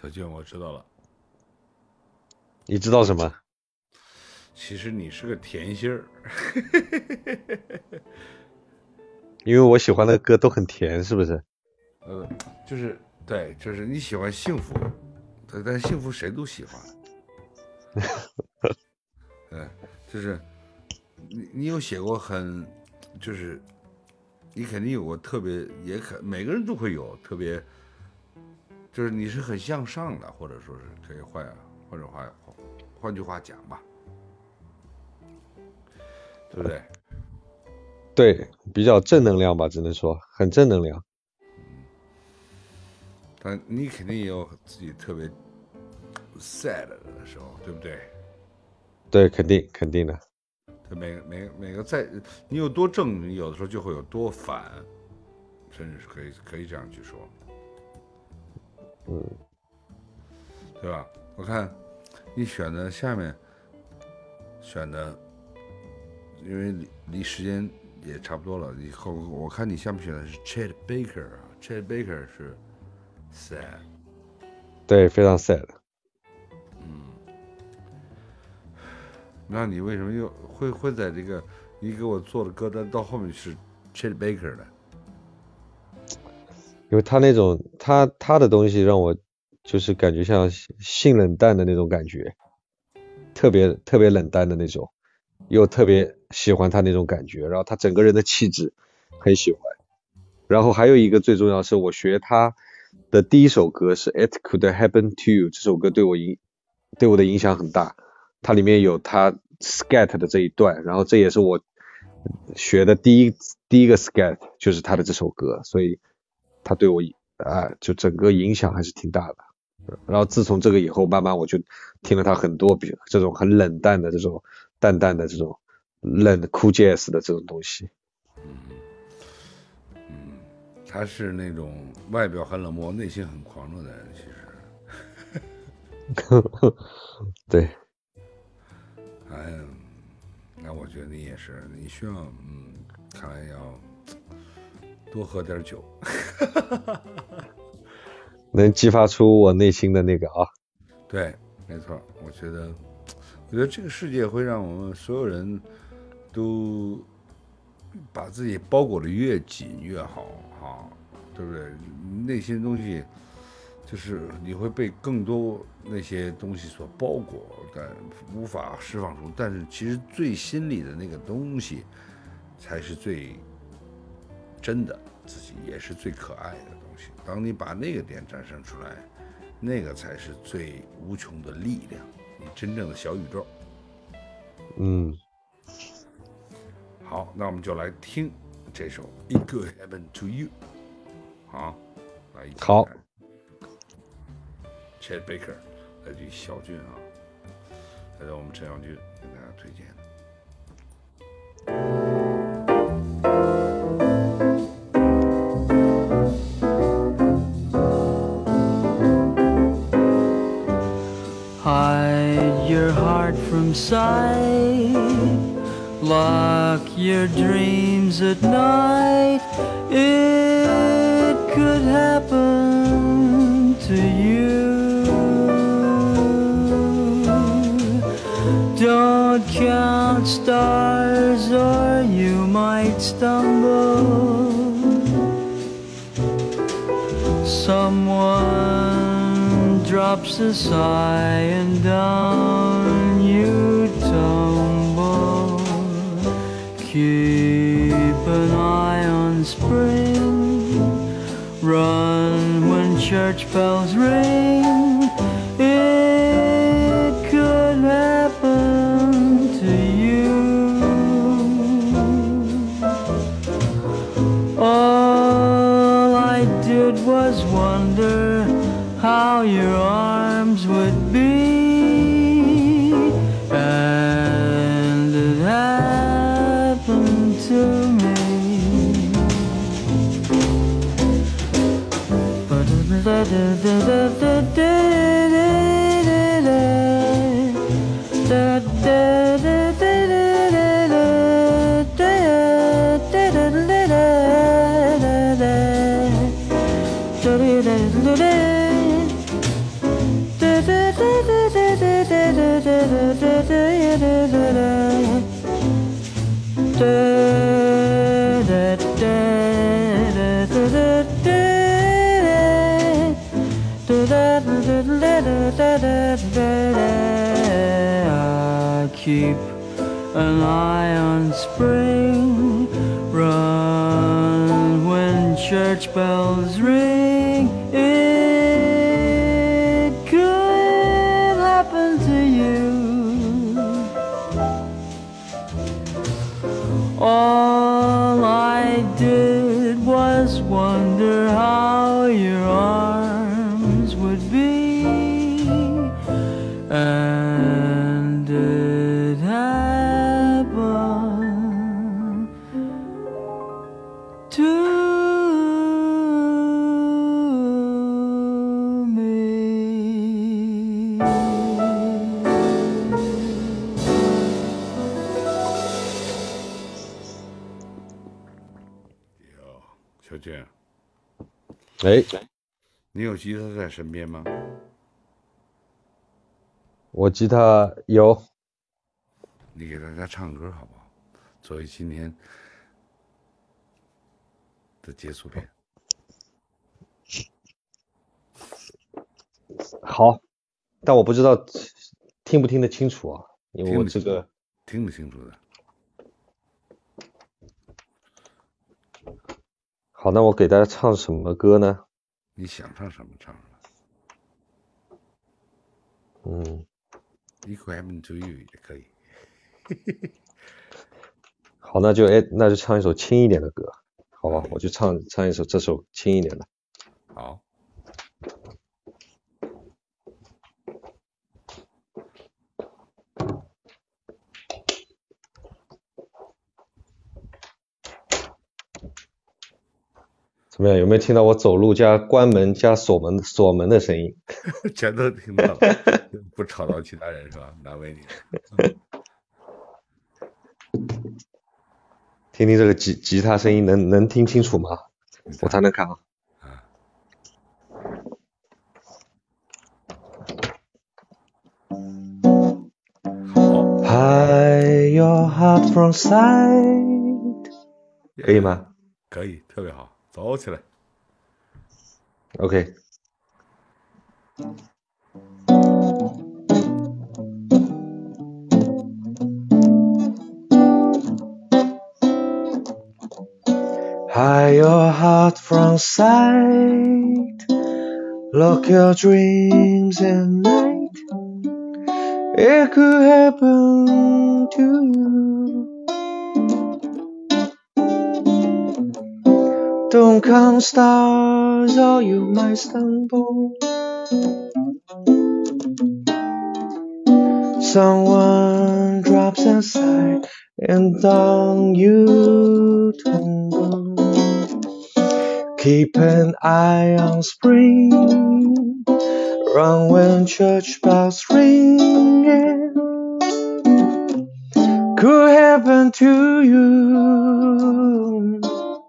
小俊，我知道了， 你知道什么？ 其实你是个甜心儿。 因为我喜欢的歌都很甜，是不是？ 就是对，就是你喜欢幸福，对，但是幸福谁都喜欢。对，就是你有写过就是你肯定有过特别，每个人都会有特别，就是你是很向上的，或者说是可以换句话讲吧，对不对？ 对，比较正能量吧，只能说很正能量。 但你肯定也有自己特别 sad 的时候，对不对？ 对，肯定的。 每个你有多正，你有的时候就会有多反，甚至是可以这样去说，对吧？我看你选的下面选的，因为离时间也差不多了，以后我看你下面选的是 Chet Baker 啊 ，Chet Baker 是 sad， 对，非常 sad。 那你为什么又会在这个你给我做的歌单到后面是 Chet Baker 的？ 因为他那种他的东西让我就是感觉像性冷淡的那种感觉，特别冷淡的那种，又特别喜欢他那种感觉，然后他整个人的气质很喜欢。然后还有一个最重要的是，我学他的第一首歌是 It Could Happen to You， 这首歌对我的影响很大。它里面有他 scat 的这一段，然后这也是我学的第一个 scat， 就是他的这首歌，所以他对我就整个影响还是挺大的。然后自从这个以后，慢慢我就听了他很多这种很冷淡的这种淡淡的这种cool jazz 的这种东西。 他是那种外表很冷漠，内心很狂热的人，其实。 对。 哎，那我觉得你也是，你需要看来要多喝点酒， 能激发出我内心的那个啊。 对，没错，我觉得这个世界会让我们所有人都把自己包裹的越紧越好啊，对不对？内心的东西就是你会被更多那些东西所包裹，但无法释放出。但是其实最心里的那个东西，才是最真的自己，也是最可爱的东西。当你把那个点展现出来，那个才是最无穷的力量，你真正的小宇宙。好，那我们就来听这首《It Could Happen to You》。好，来一起好。 Chet Baker 来自于小俊啊，来到我们陈小俊给大家推荐的。 Hide your heart from sight, lock your dreams at night. It could happen to you. Don't count stars or you might stumble. Someone drops a sigh and down you tumble. Keep an eye on spring. Run when church bells ring. It could happen to you. All I did was wonder how your arms would be, and it happened to me. I keep an eye on spring, run when church bells ring. It could happen to you. All I did was wonder how your arms would be, and it happened to me. 小娟， 哎， 你有吉他在身边吗？ 我吉他有， 你给大家唱歌好不好？作为今天的结束篇。 好，但我不知道听不听得清楚啊，因为我这个听得清楚的。 好，那我给大家唱什么歌呢？ 你想唱什么唱什么。It could happen to you 也可以。 好，那就唱一首轻一点的歌，好吧？我就唱一首这首轻一点的。 好。 怎么样？有没有听到我走路加关门加锁门的声音？ 全都听到了，不吵到其他人是吧？难为你了。 听听这个吉他声音能听清楚吗？我才能看啊。Hide your heart from sight， 可以吗？ 可以，特别好，走起来。 OK。Hide your heart from sight, lock your dreams at night. It could happen to you. Don't count stars or you might stumble. Someone drops inside and down you tumble. Keep an eye on spring, run when church bells ring. Could happen to you.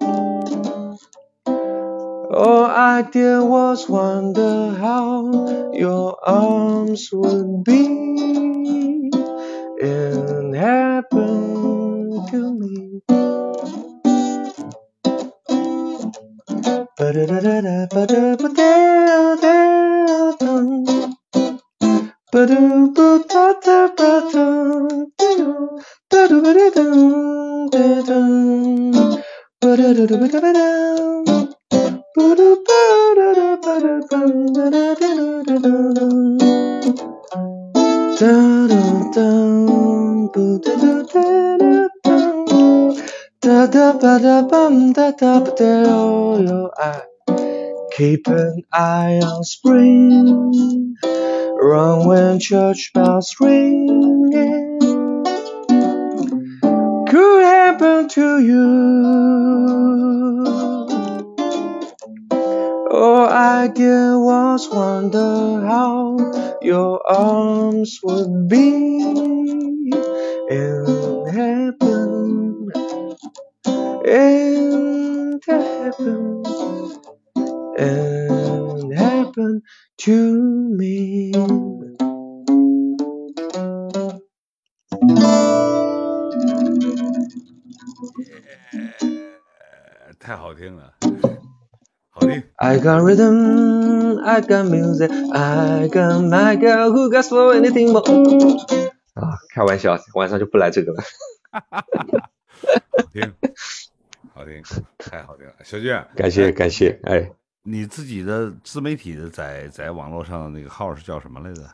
All I did was wonder how your arms would be. It happened to me. Keep an eye on spring, run when church bells ring. Could happen to you. All I did was wonder how your arms would be. It happened. It happened. It happened to me. 太好听了，好听。 I got rhythm, I got music, I got my girl who got for anything more。啊，开玩笑，晚上就不来这个了。 好听，好听，太好听了，小俊， 感谢感谢，哎， 你自己的自媒体的在网络上的那个号是叫什么来着？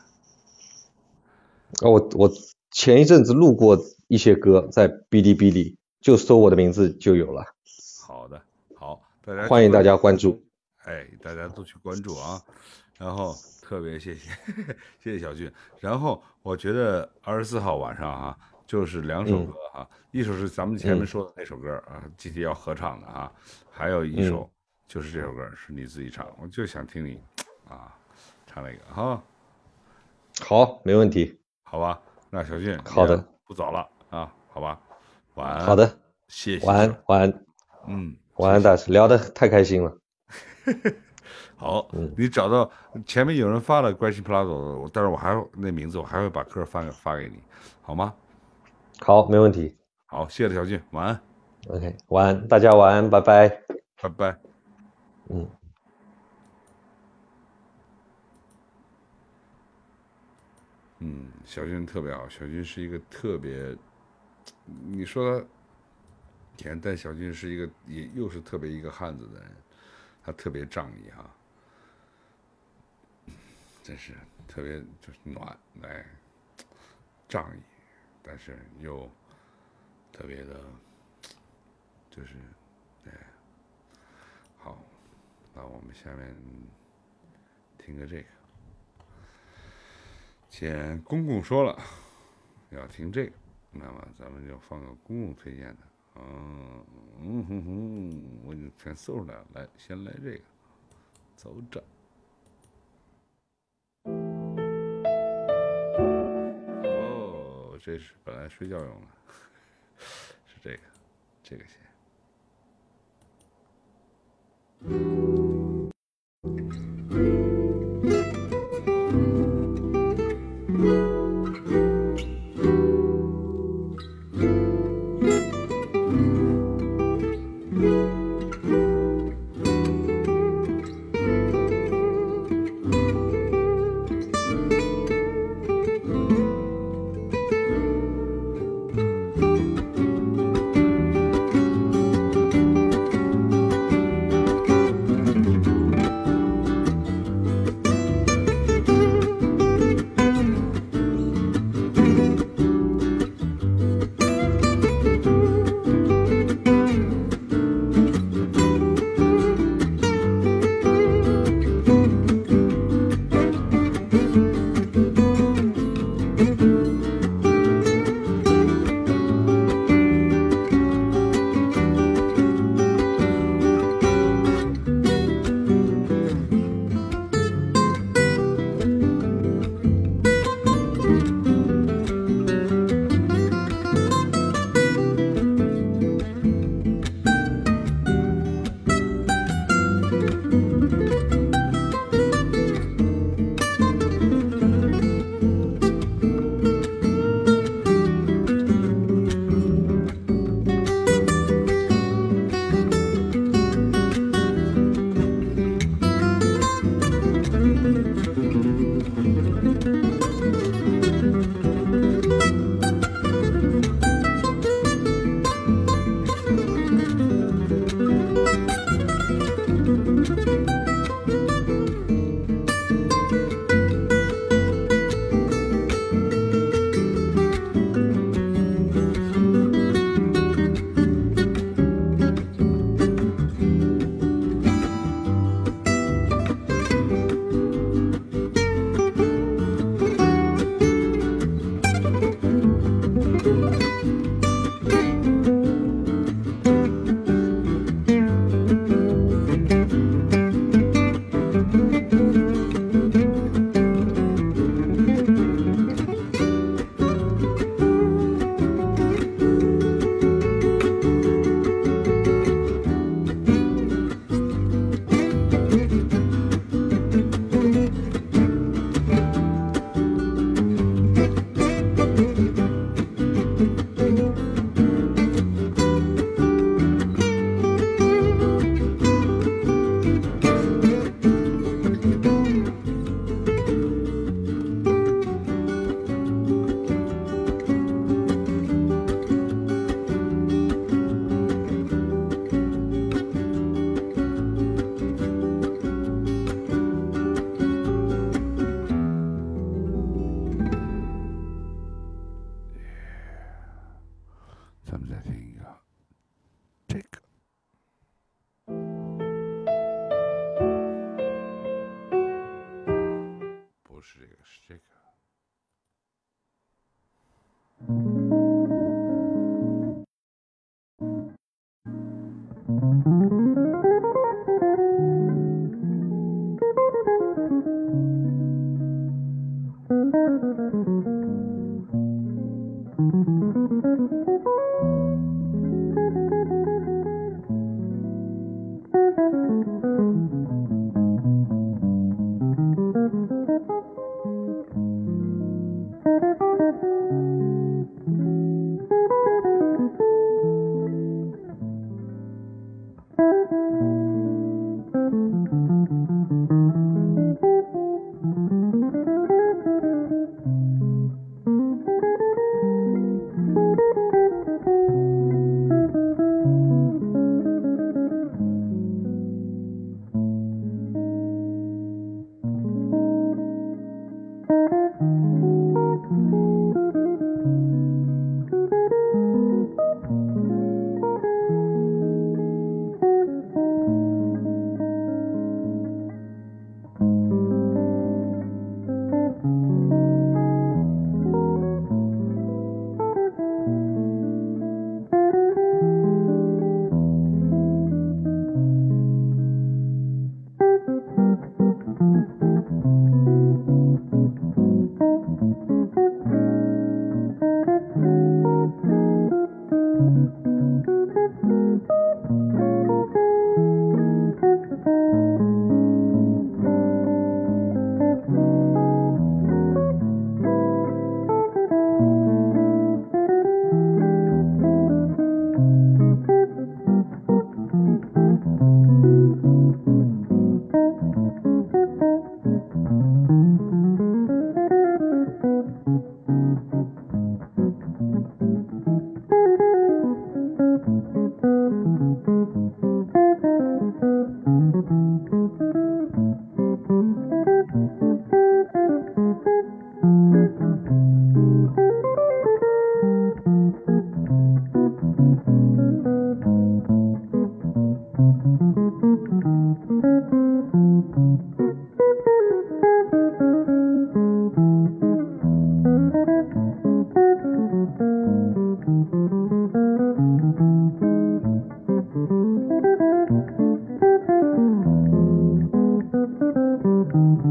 我前一阵子录过一些歌，在哔哩哔哩，就搜我的名字就有了。 好的，好，大家欢迎大家关注。 哎，大家都去关注啊！然后特别谢谢谢谢小俊。然后我觉得24号晚上哈，就是2首歌哈，一首是咱们前面说的那首歌啊，GT 要合唱的啊，还有一首就是这首歌是你自己唱，我就想听你啊唱那个哈。 好，没问题。 好吧，那小俊， 好的， 不早了啊，好吧，晚安。 好的， 谢谢。 晚安，晚安。晚安，大师，聊得太开心了。 好，你找到前面有人发了 Gracie Plaza， 但是我还那名字我还会把歌发给你，好吗？ 好，没问题。 好，谢谢小俊，晚安。 OK， 晚安，大家晚安，拜拜。 拜拜。小俊特别好，小俊是一个特别，你说他甜，但小俊是一个也又是特别一个汉子的人，他特别仗义哈，真是特别就是暖，哎，仗义，但是又特别的，就是，哎，好，那我们下面听个这个。既然公公说了要听这个，那么咱们就放个公公推荐的。我就全搜出来了。来，先来这个，走着。哦，这是本来睡觉用的，是这个先。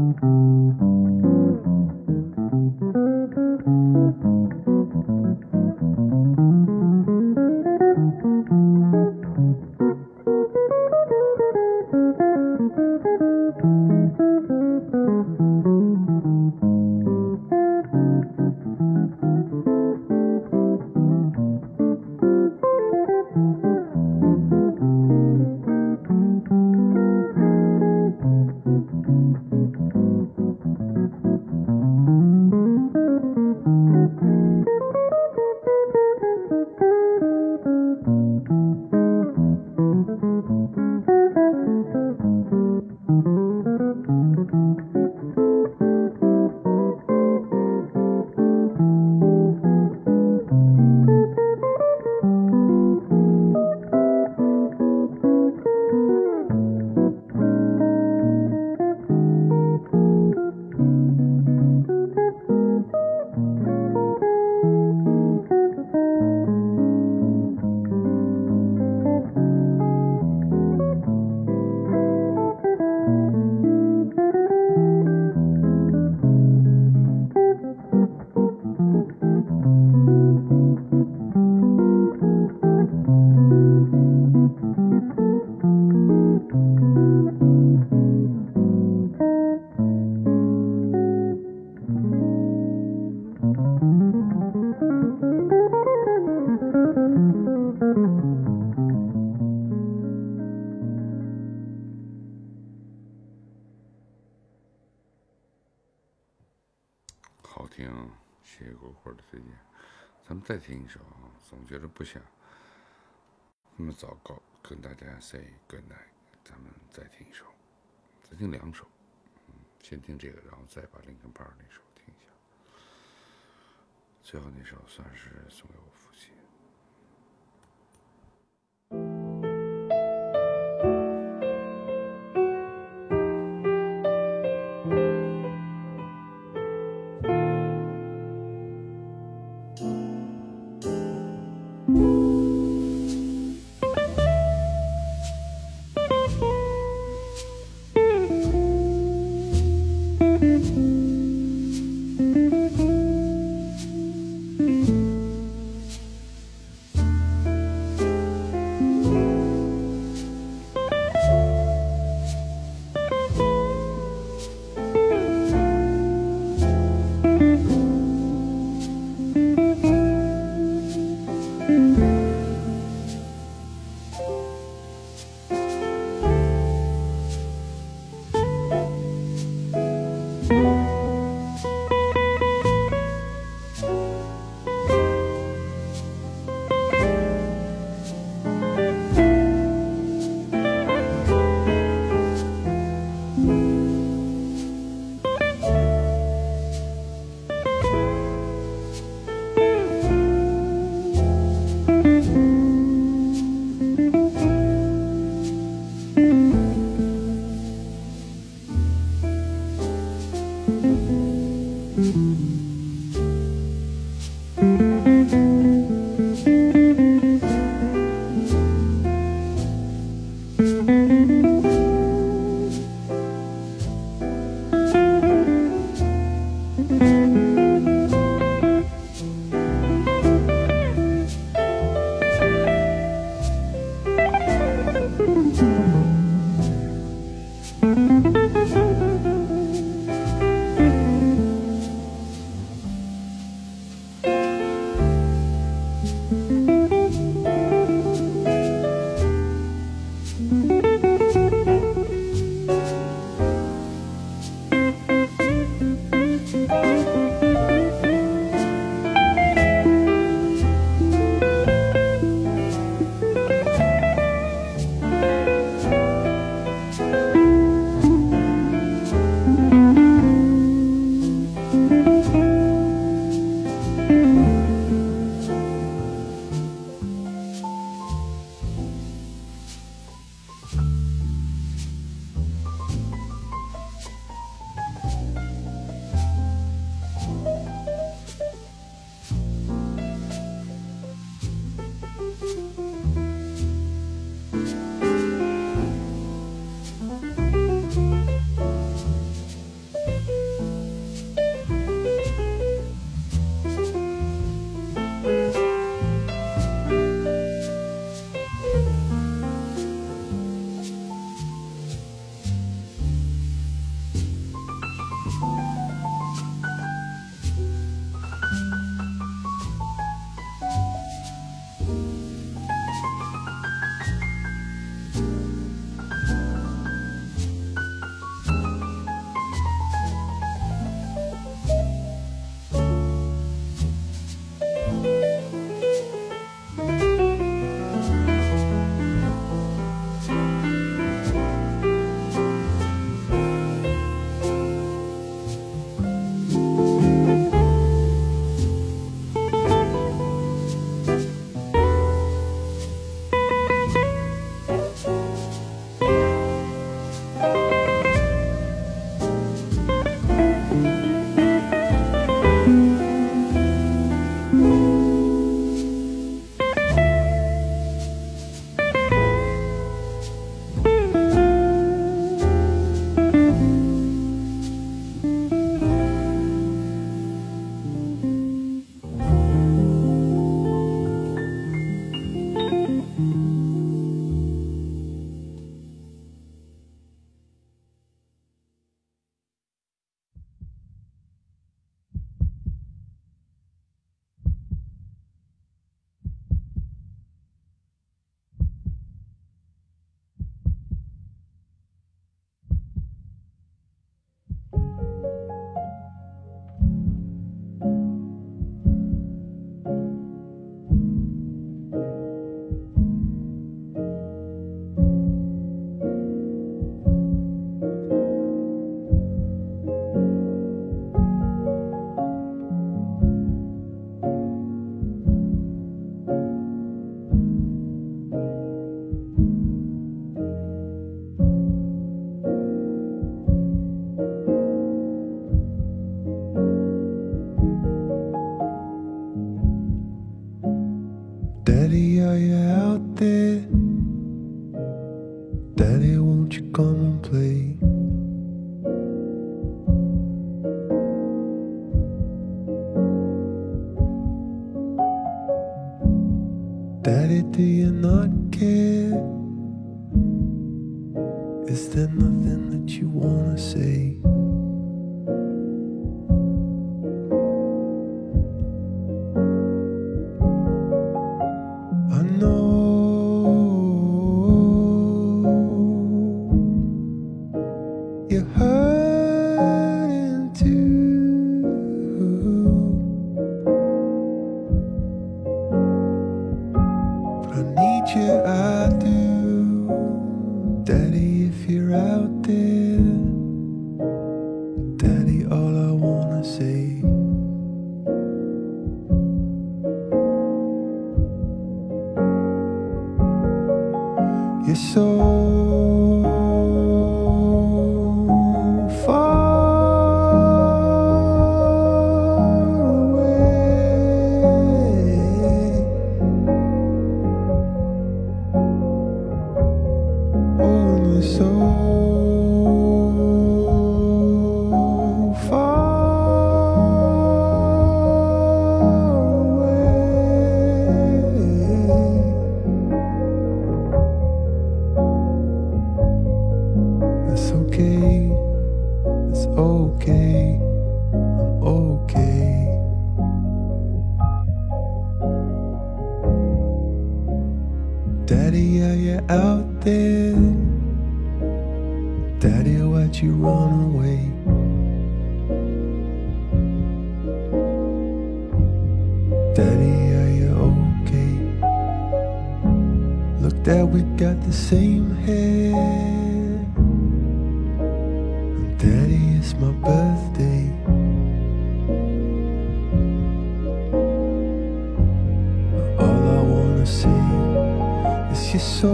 好听，谢谢果果的推荐。咱们再听一首啊，总觉得不想那么早告跟大家 say good night， 咱们再听一首，再听2首，先听这个，然后再把林肯帕尔那首听一下，最后那首算是送给我父亲。 not care? Is there nothing that you wanna say? I know you're hurting too, but I need you, I do. Daddy, if you're out there, Daddy, all I wanna say. You're so far away. Oh, and you're so far away. It's okay, it's okay, I'm okay. Daddy, are you out there? Daddy, why'd you run away? Daddy, are you okay? Look, Dad, we got the same hair. Daddy, it's my birthday. All I wanna say is you're so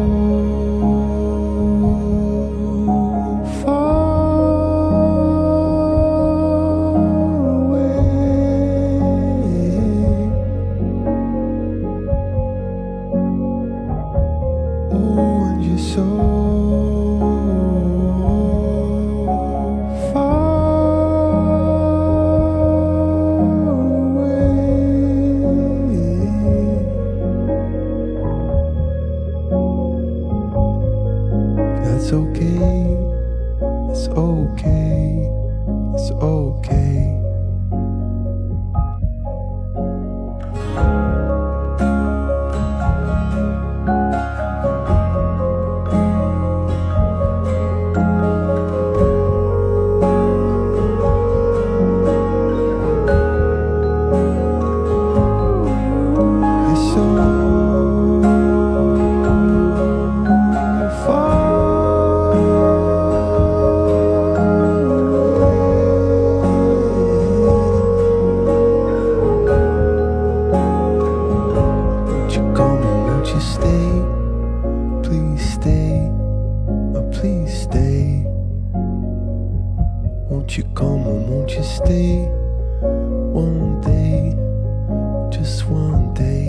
far away. Oh, and you're so It's okay, it's okay, it's okay. You're so Won't you come and won't you stay? Please stay, oh please stay. Won't you come and won't you stay? One day, just one day.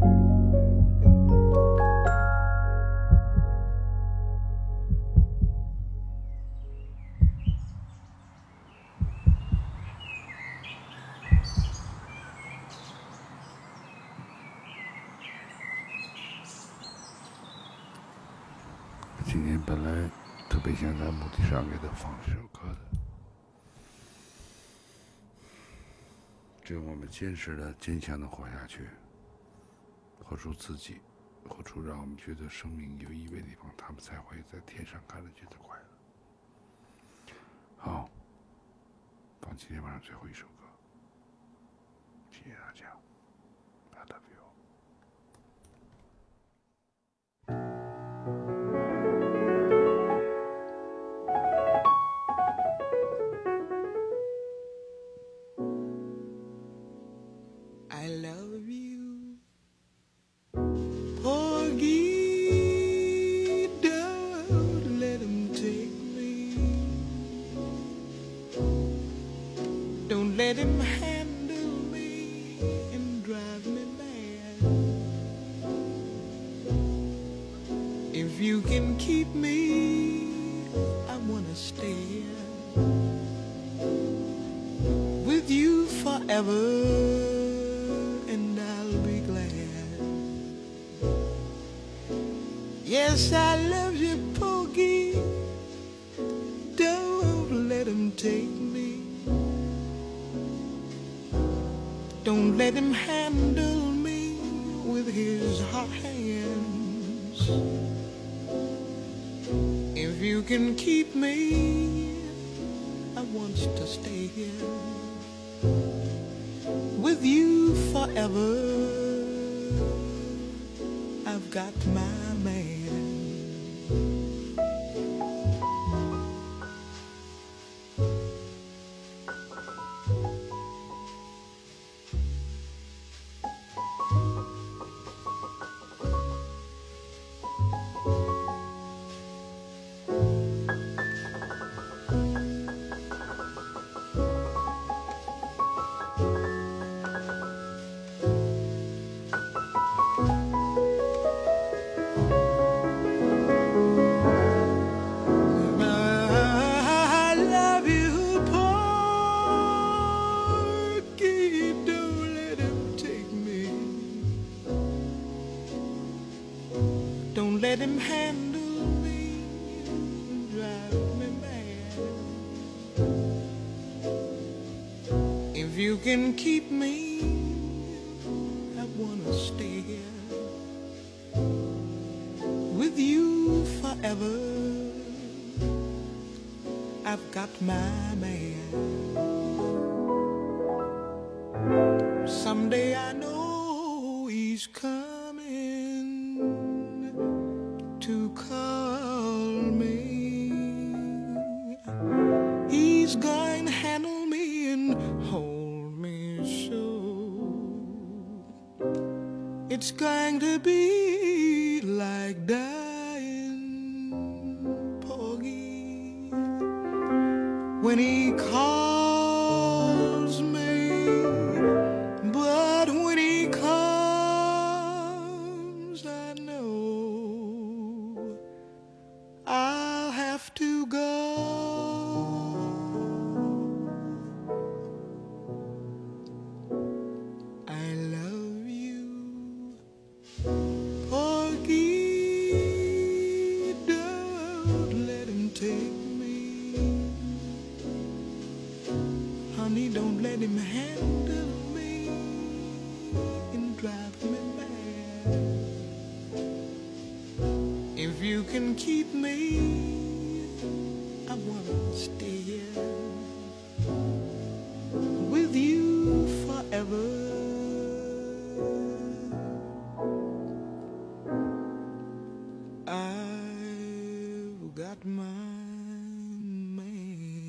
今天本来特别想在墓地上给他放这首歌的，只有我们坚实的、坚强的活下去，活出自己，活出让我们觉得生命有意味的地方，他们才会在天上看了觉得快乐。好，放今天晚上最后一首歌，谢谢大家。I love you. I love you, Porgy, don't let him take me. Don't let him handle me and drive me mad. If you can keep me, I wanna stay with you forever. And I'll be glad Yes, I love you, Pokey. Don't let him take me. Don't let him handle me with his hot hands. If you can keep me, I want to stay here with you forever. I've got my man. I love you, Porky. Don't let him take me. Don't let him handle me, drive me mad. If you can keep me, I wanna stay here with you forever. I've got my man. Someday I know he's coming to call me. He's going to handle me and hold me so. It's going to be like dying, Porgy, when he calls me. But when he comes, I know I'll have to go. I love you, Porgy. Don't let him take me. Honey, don't let him handle me and drive me mad. If you can keep me, I wanna stay here with you forever. I've got my man.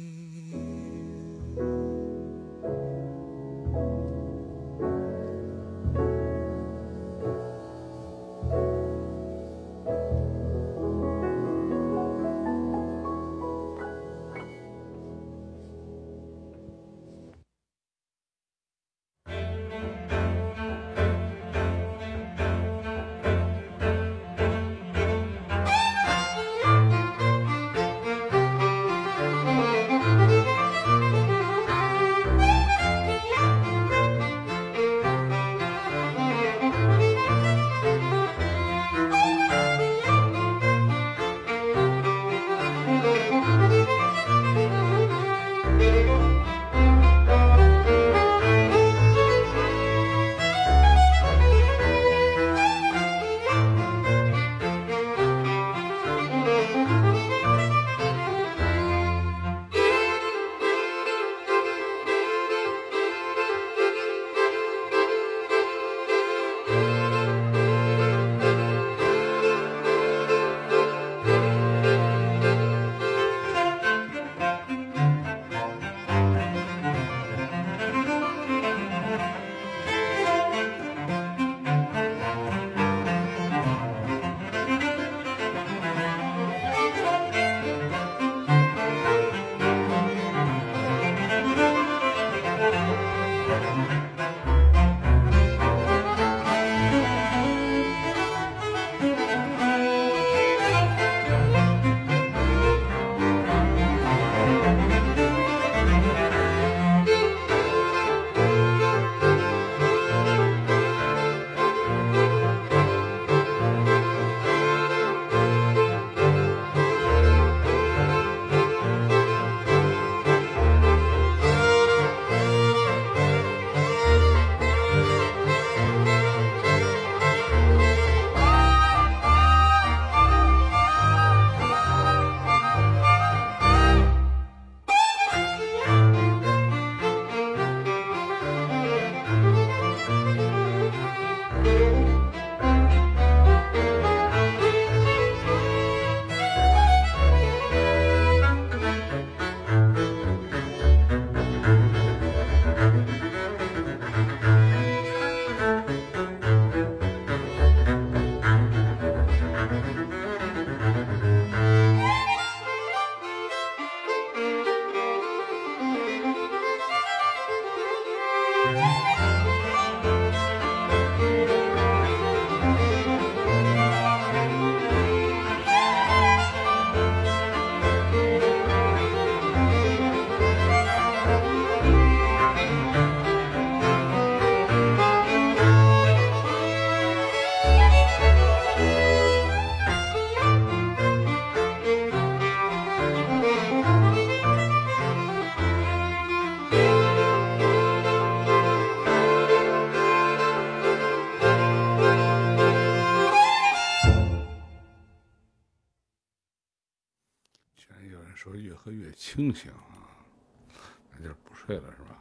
就是不睡了是吧？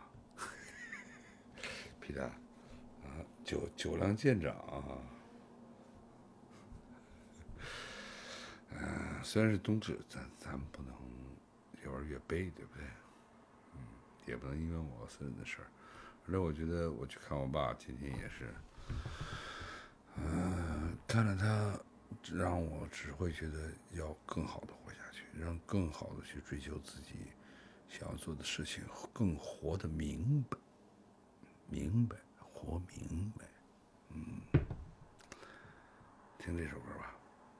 皮蛋啊，酒量见长啊。虽然是冬至，咱们不能越玩越悲，对不对？也不能因为我私人的事儿。反正我觉得我去看我爸，今天也是，看了他，让我只会觉得要更好的活下去，让更好的去追求自己想要做的事情，更活得明白，活明白。听这首歌吧，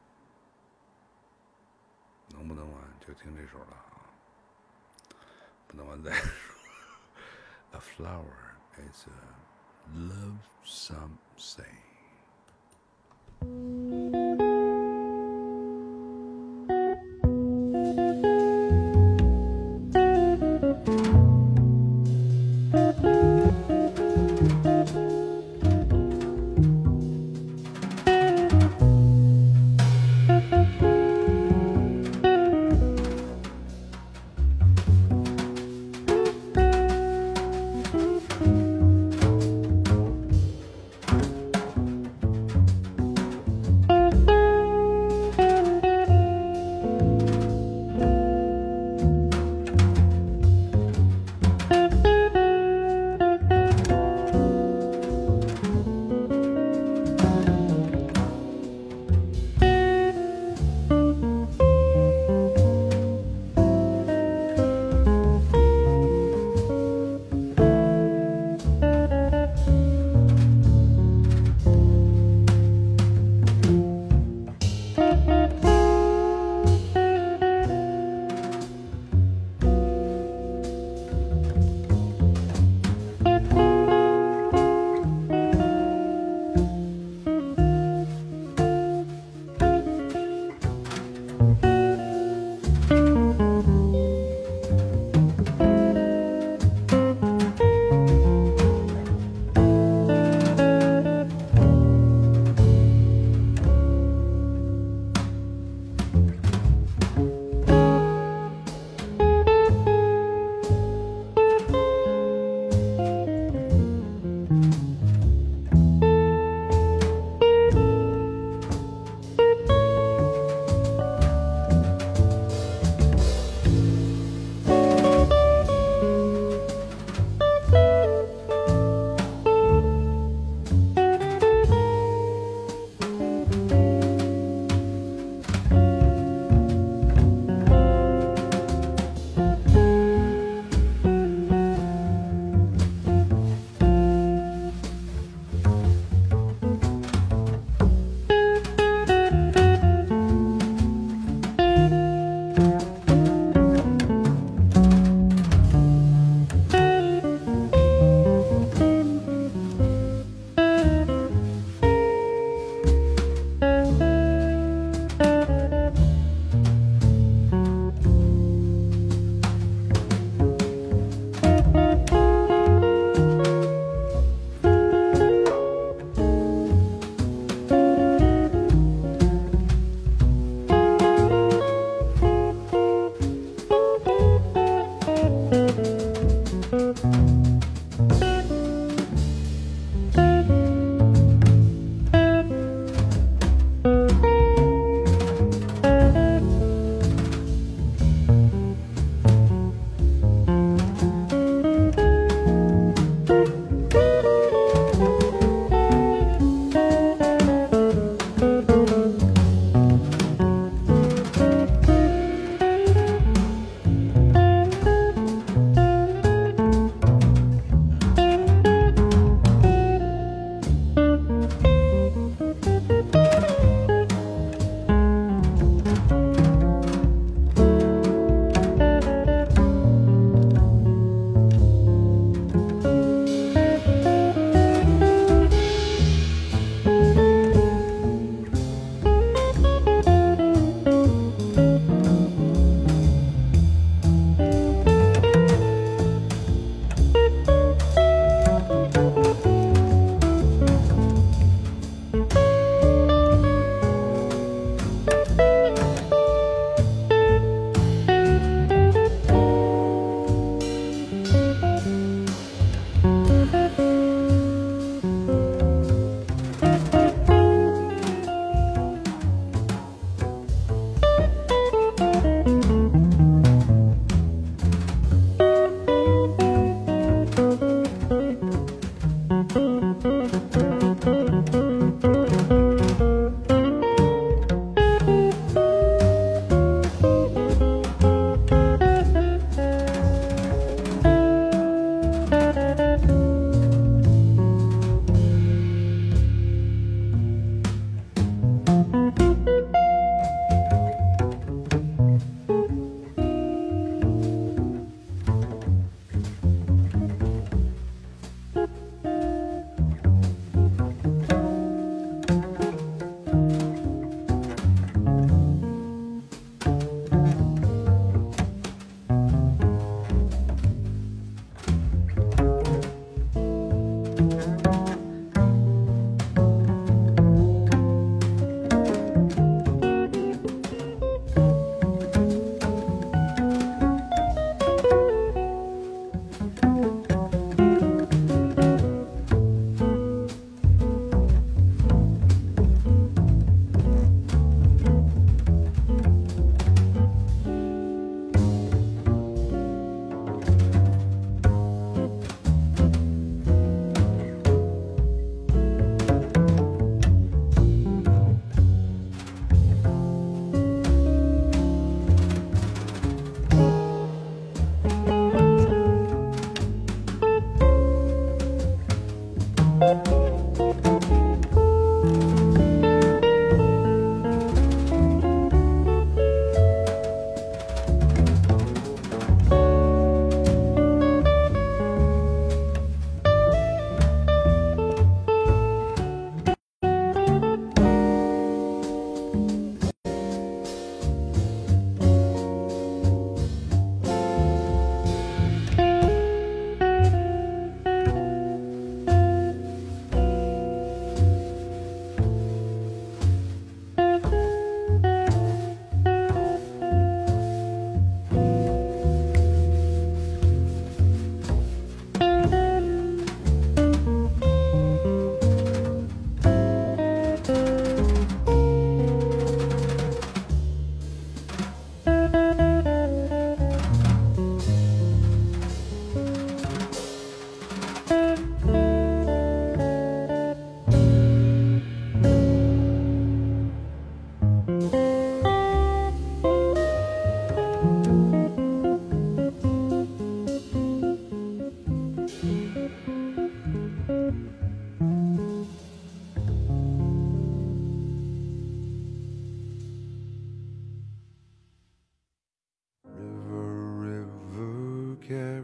能不能完就听这首了啊，不能完再说。A flower is a love some say.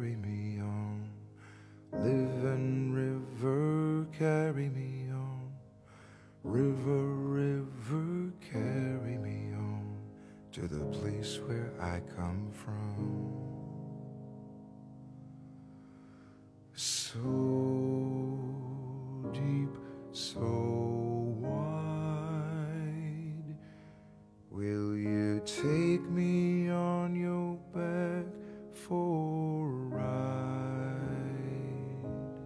carry me on. Living river, carry me on. River, river, carry me on to the place where I come from. So deep, so wide, will you take me on your back for a ride?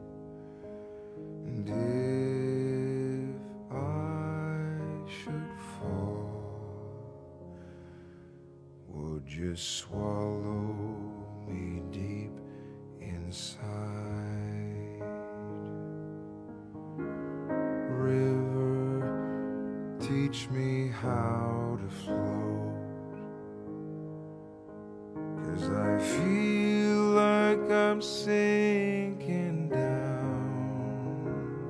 And if I should fall, would you swallow me deep inside? River, teach me how to float, 'cause I feel like I'm sinking down.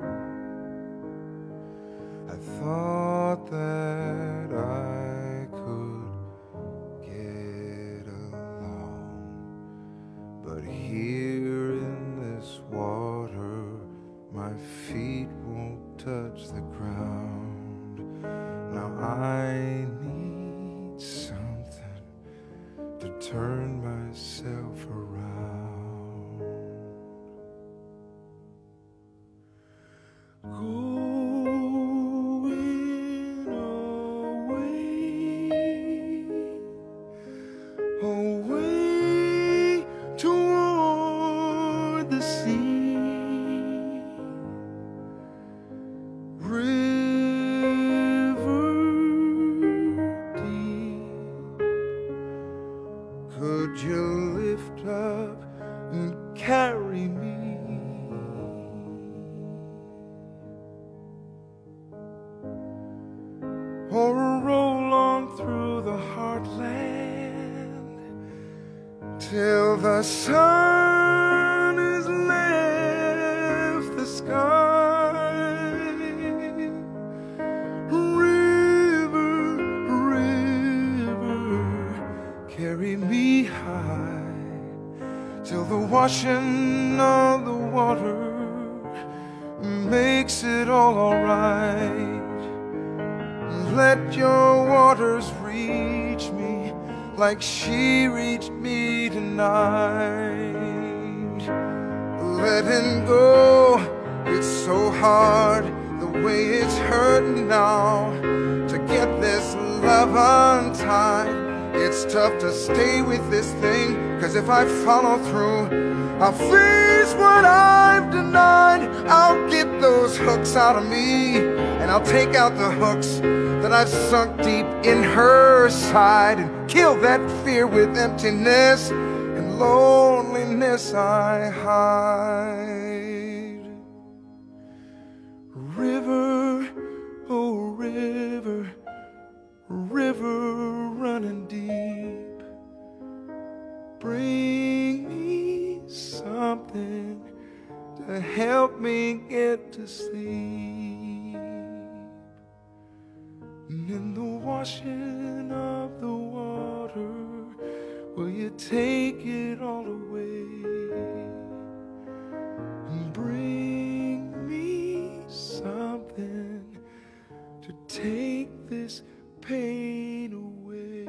I thought that I could get along, but here in this water my feet won't touch the ground. Now I need something to turn myself around. Going away toward the sea. River deep, could you lift up and carry me? Or roll on through the heartland till the sun has left the sky. River, river, carry me high till the washing of the water makes it all alright. Let your waters reach me like she reached me tonight. Letting go, it's so hard the way it's hurting now. To get this love untied, it's tough to stay with this thing, 'cause if I follow through, I'll face what I've denied. I'll get those hooks out of me, and I'll take out the hooks that I've sunk deep in her side, and kill that fear with emptiness and loneliness I hide. River, oh river, river running deep, bring me something to help me get to sleep. And in the washing of the water, will you take it all away and bring me something to take this pain away?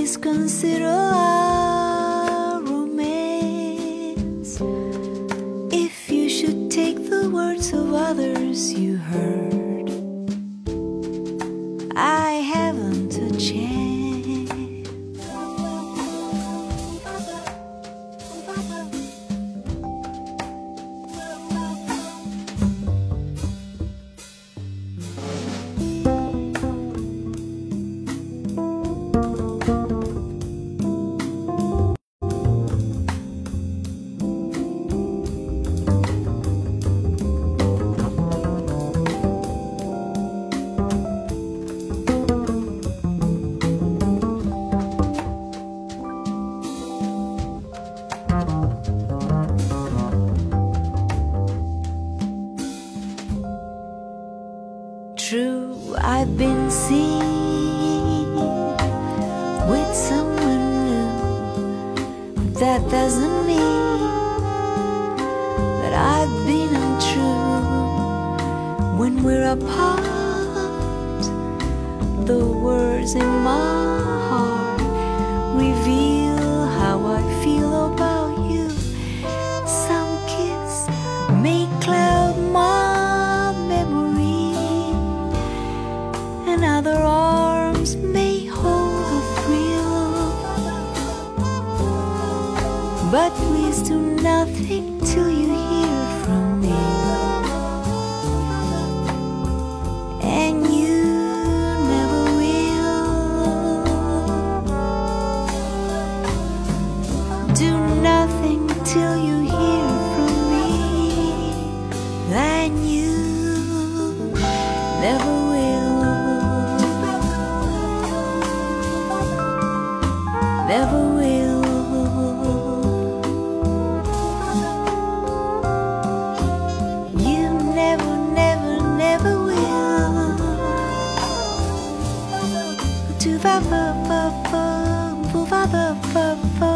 please consider our romance. If you should take the words of others you heard, I haven't a chance. True, I've been seen with someone new, but that doesn't mean that I've been untrue. When we're apart, the words in my heart reveal how I feel about you. Some kiss may cloud my memory, and other arms may hold a thrill. But please do nothing till you hear from me, and you never will. Do nothing till you hear from me, and you never will. Never will. You never, never, never will. Do va va va va va va va va.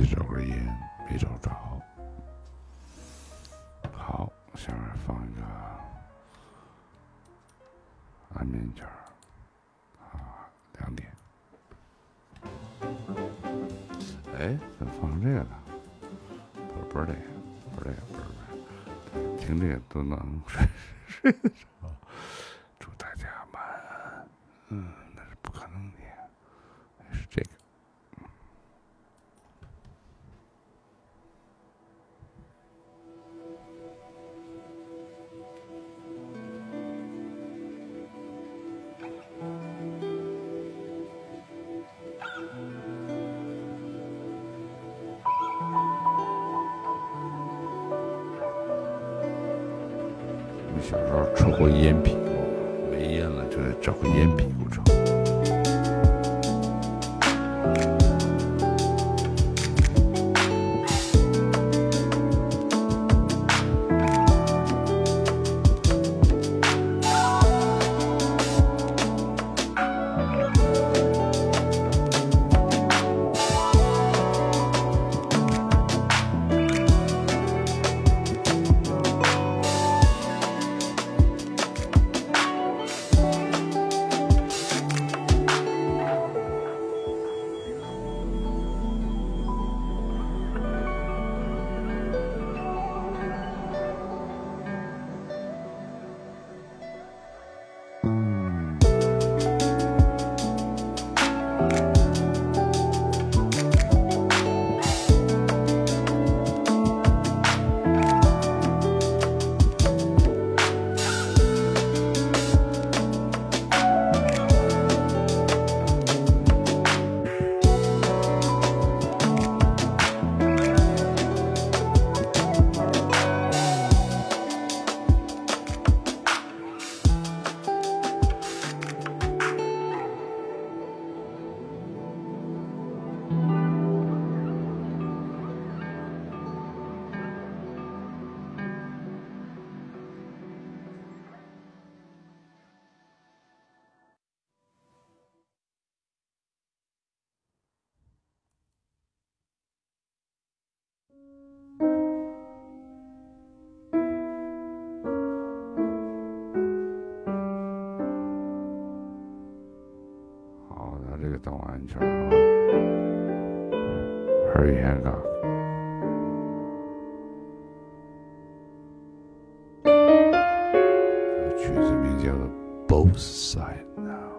去找根烟，没找着。好，下面放一个安眠曲儿啊，2点。哎，怎么放成这个呢？不是这个，不是这个，不是。听这个都能睡得着。祝大家晚安。那是不可能的，是这个。我小时候抽过烟屁股，没烟了就得找个烟屁股抽。好的，这个当晚安曲啊，Herbie Hancock。曲子名叫做《Both Side Now》。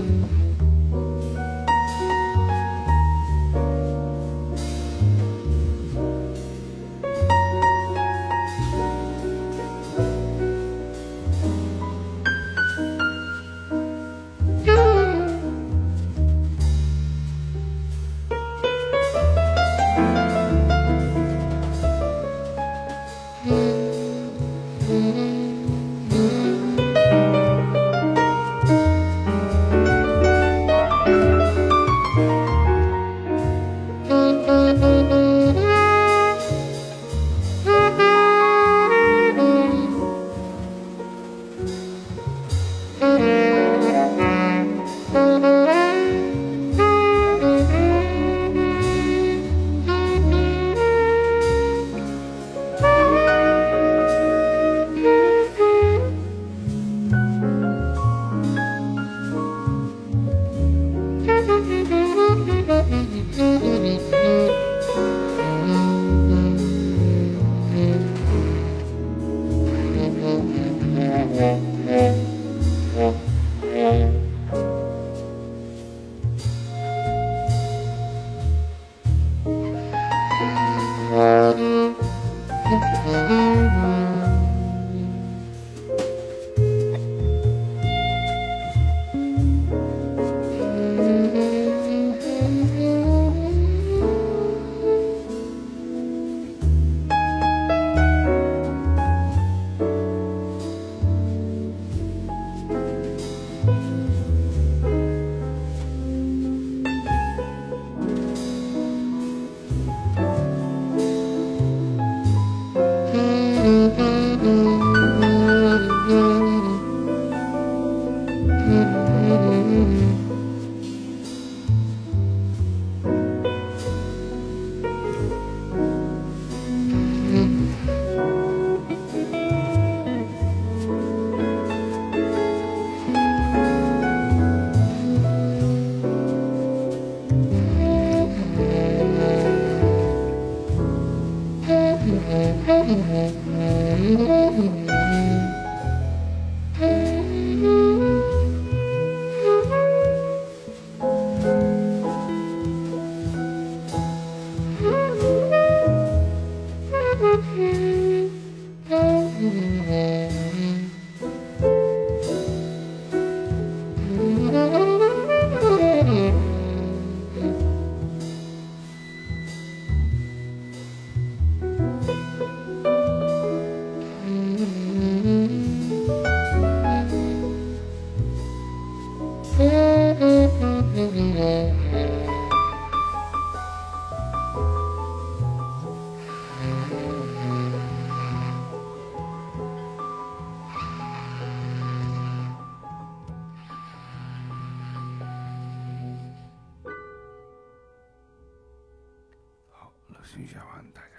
好，乐趣下完，大家。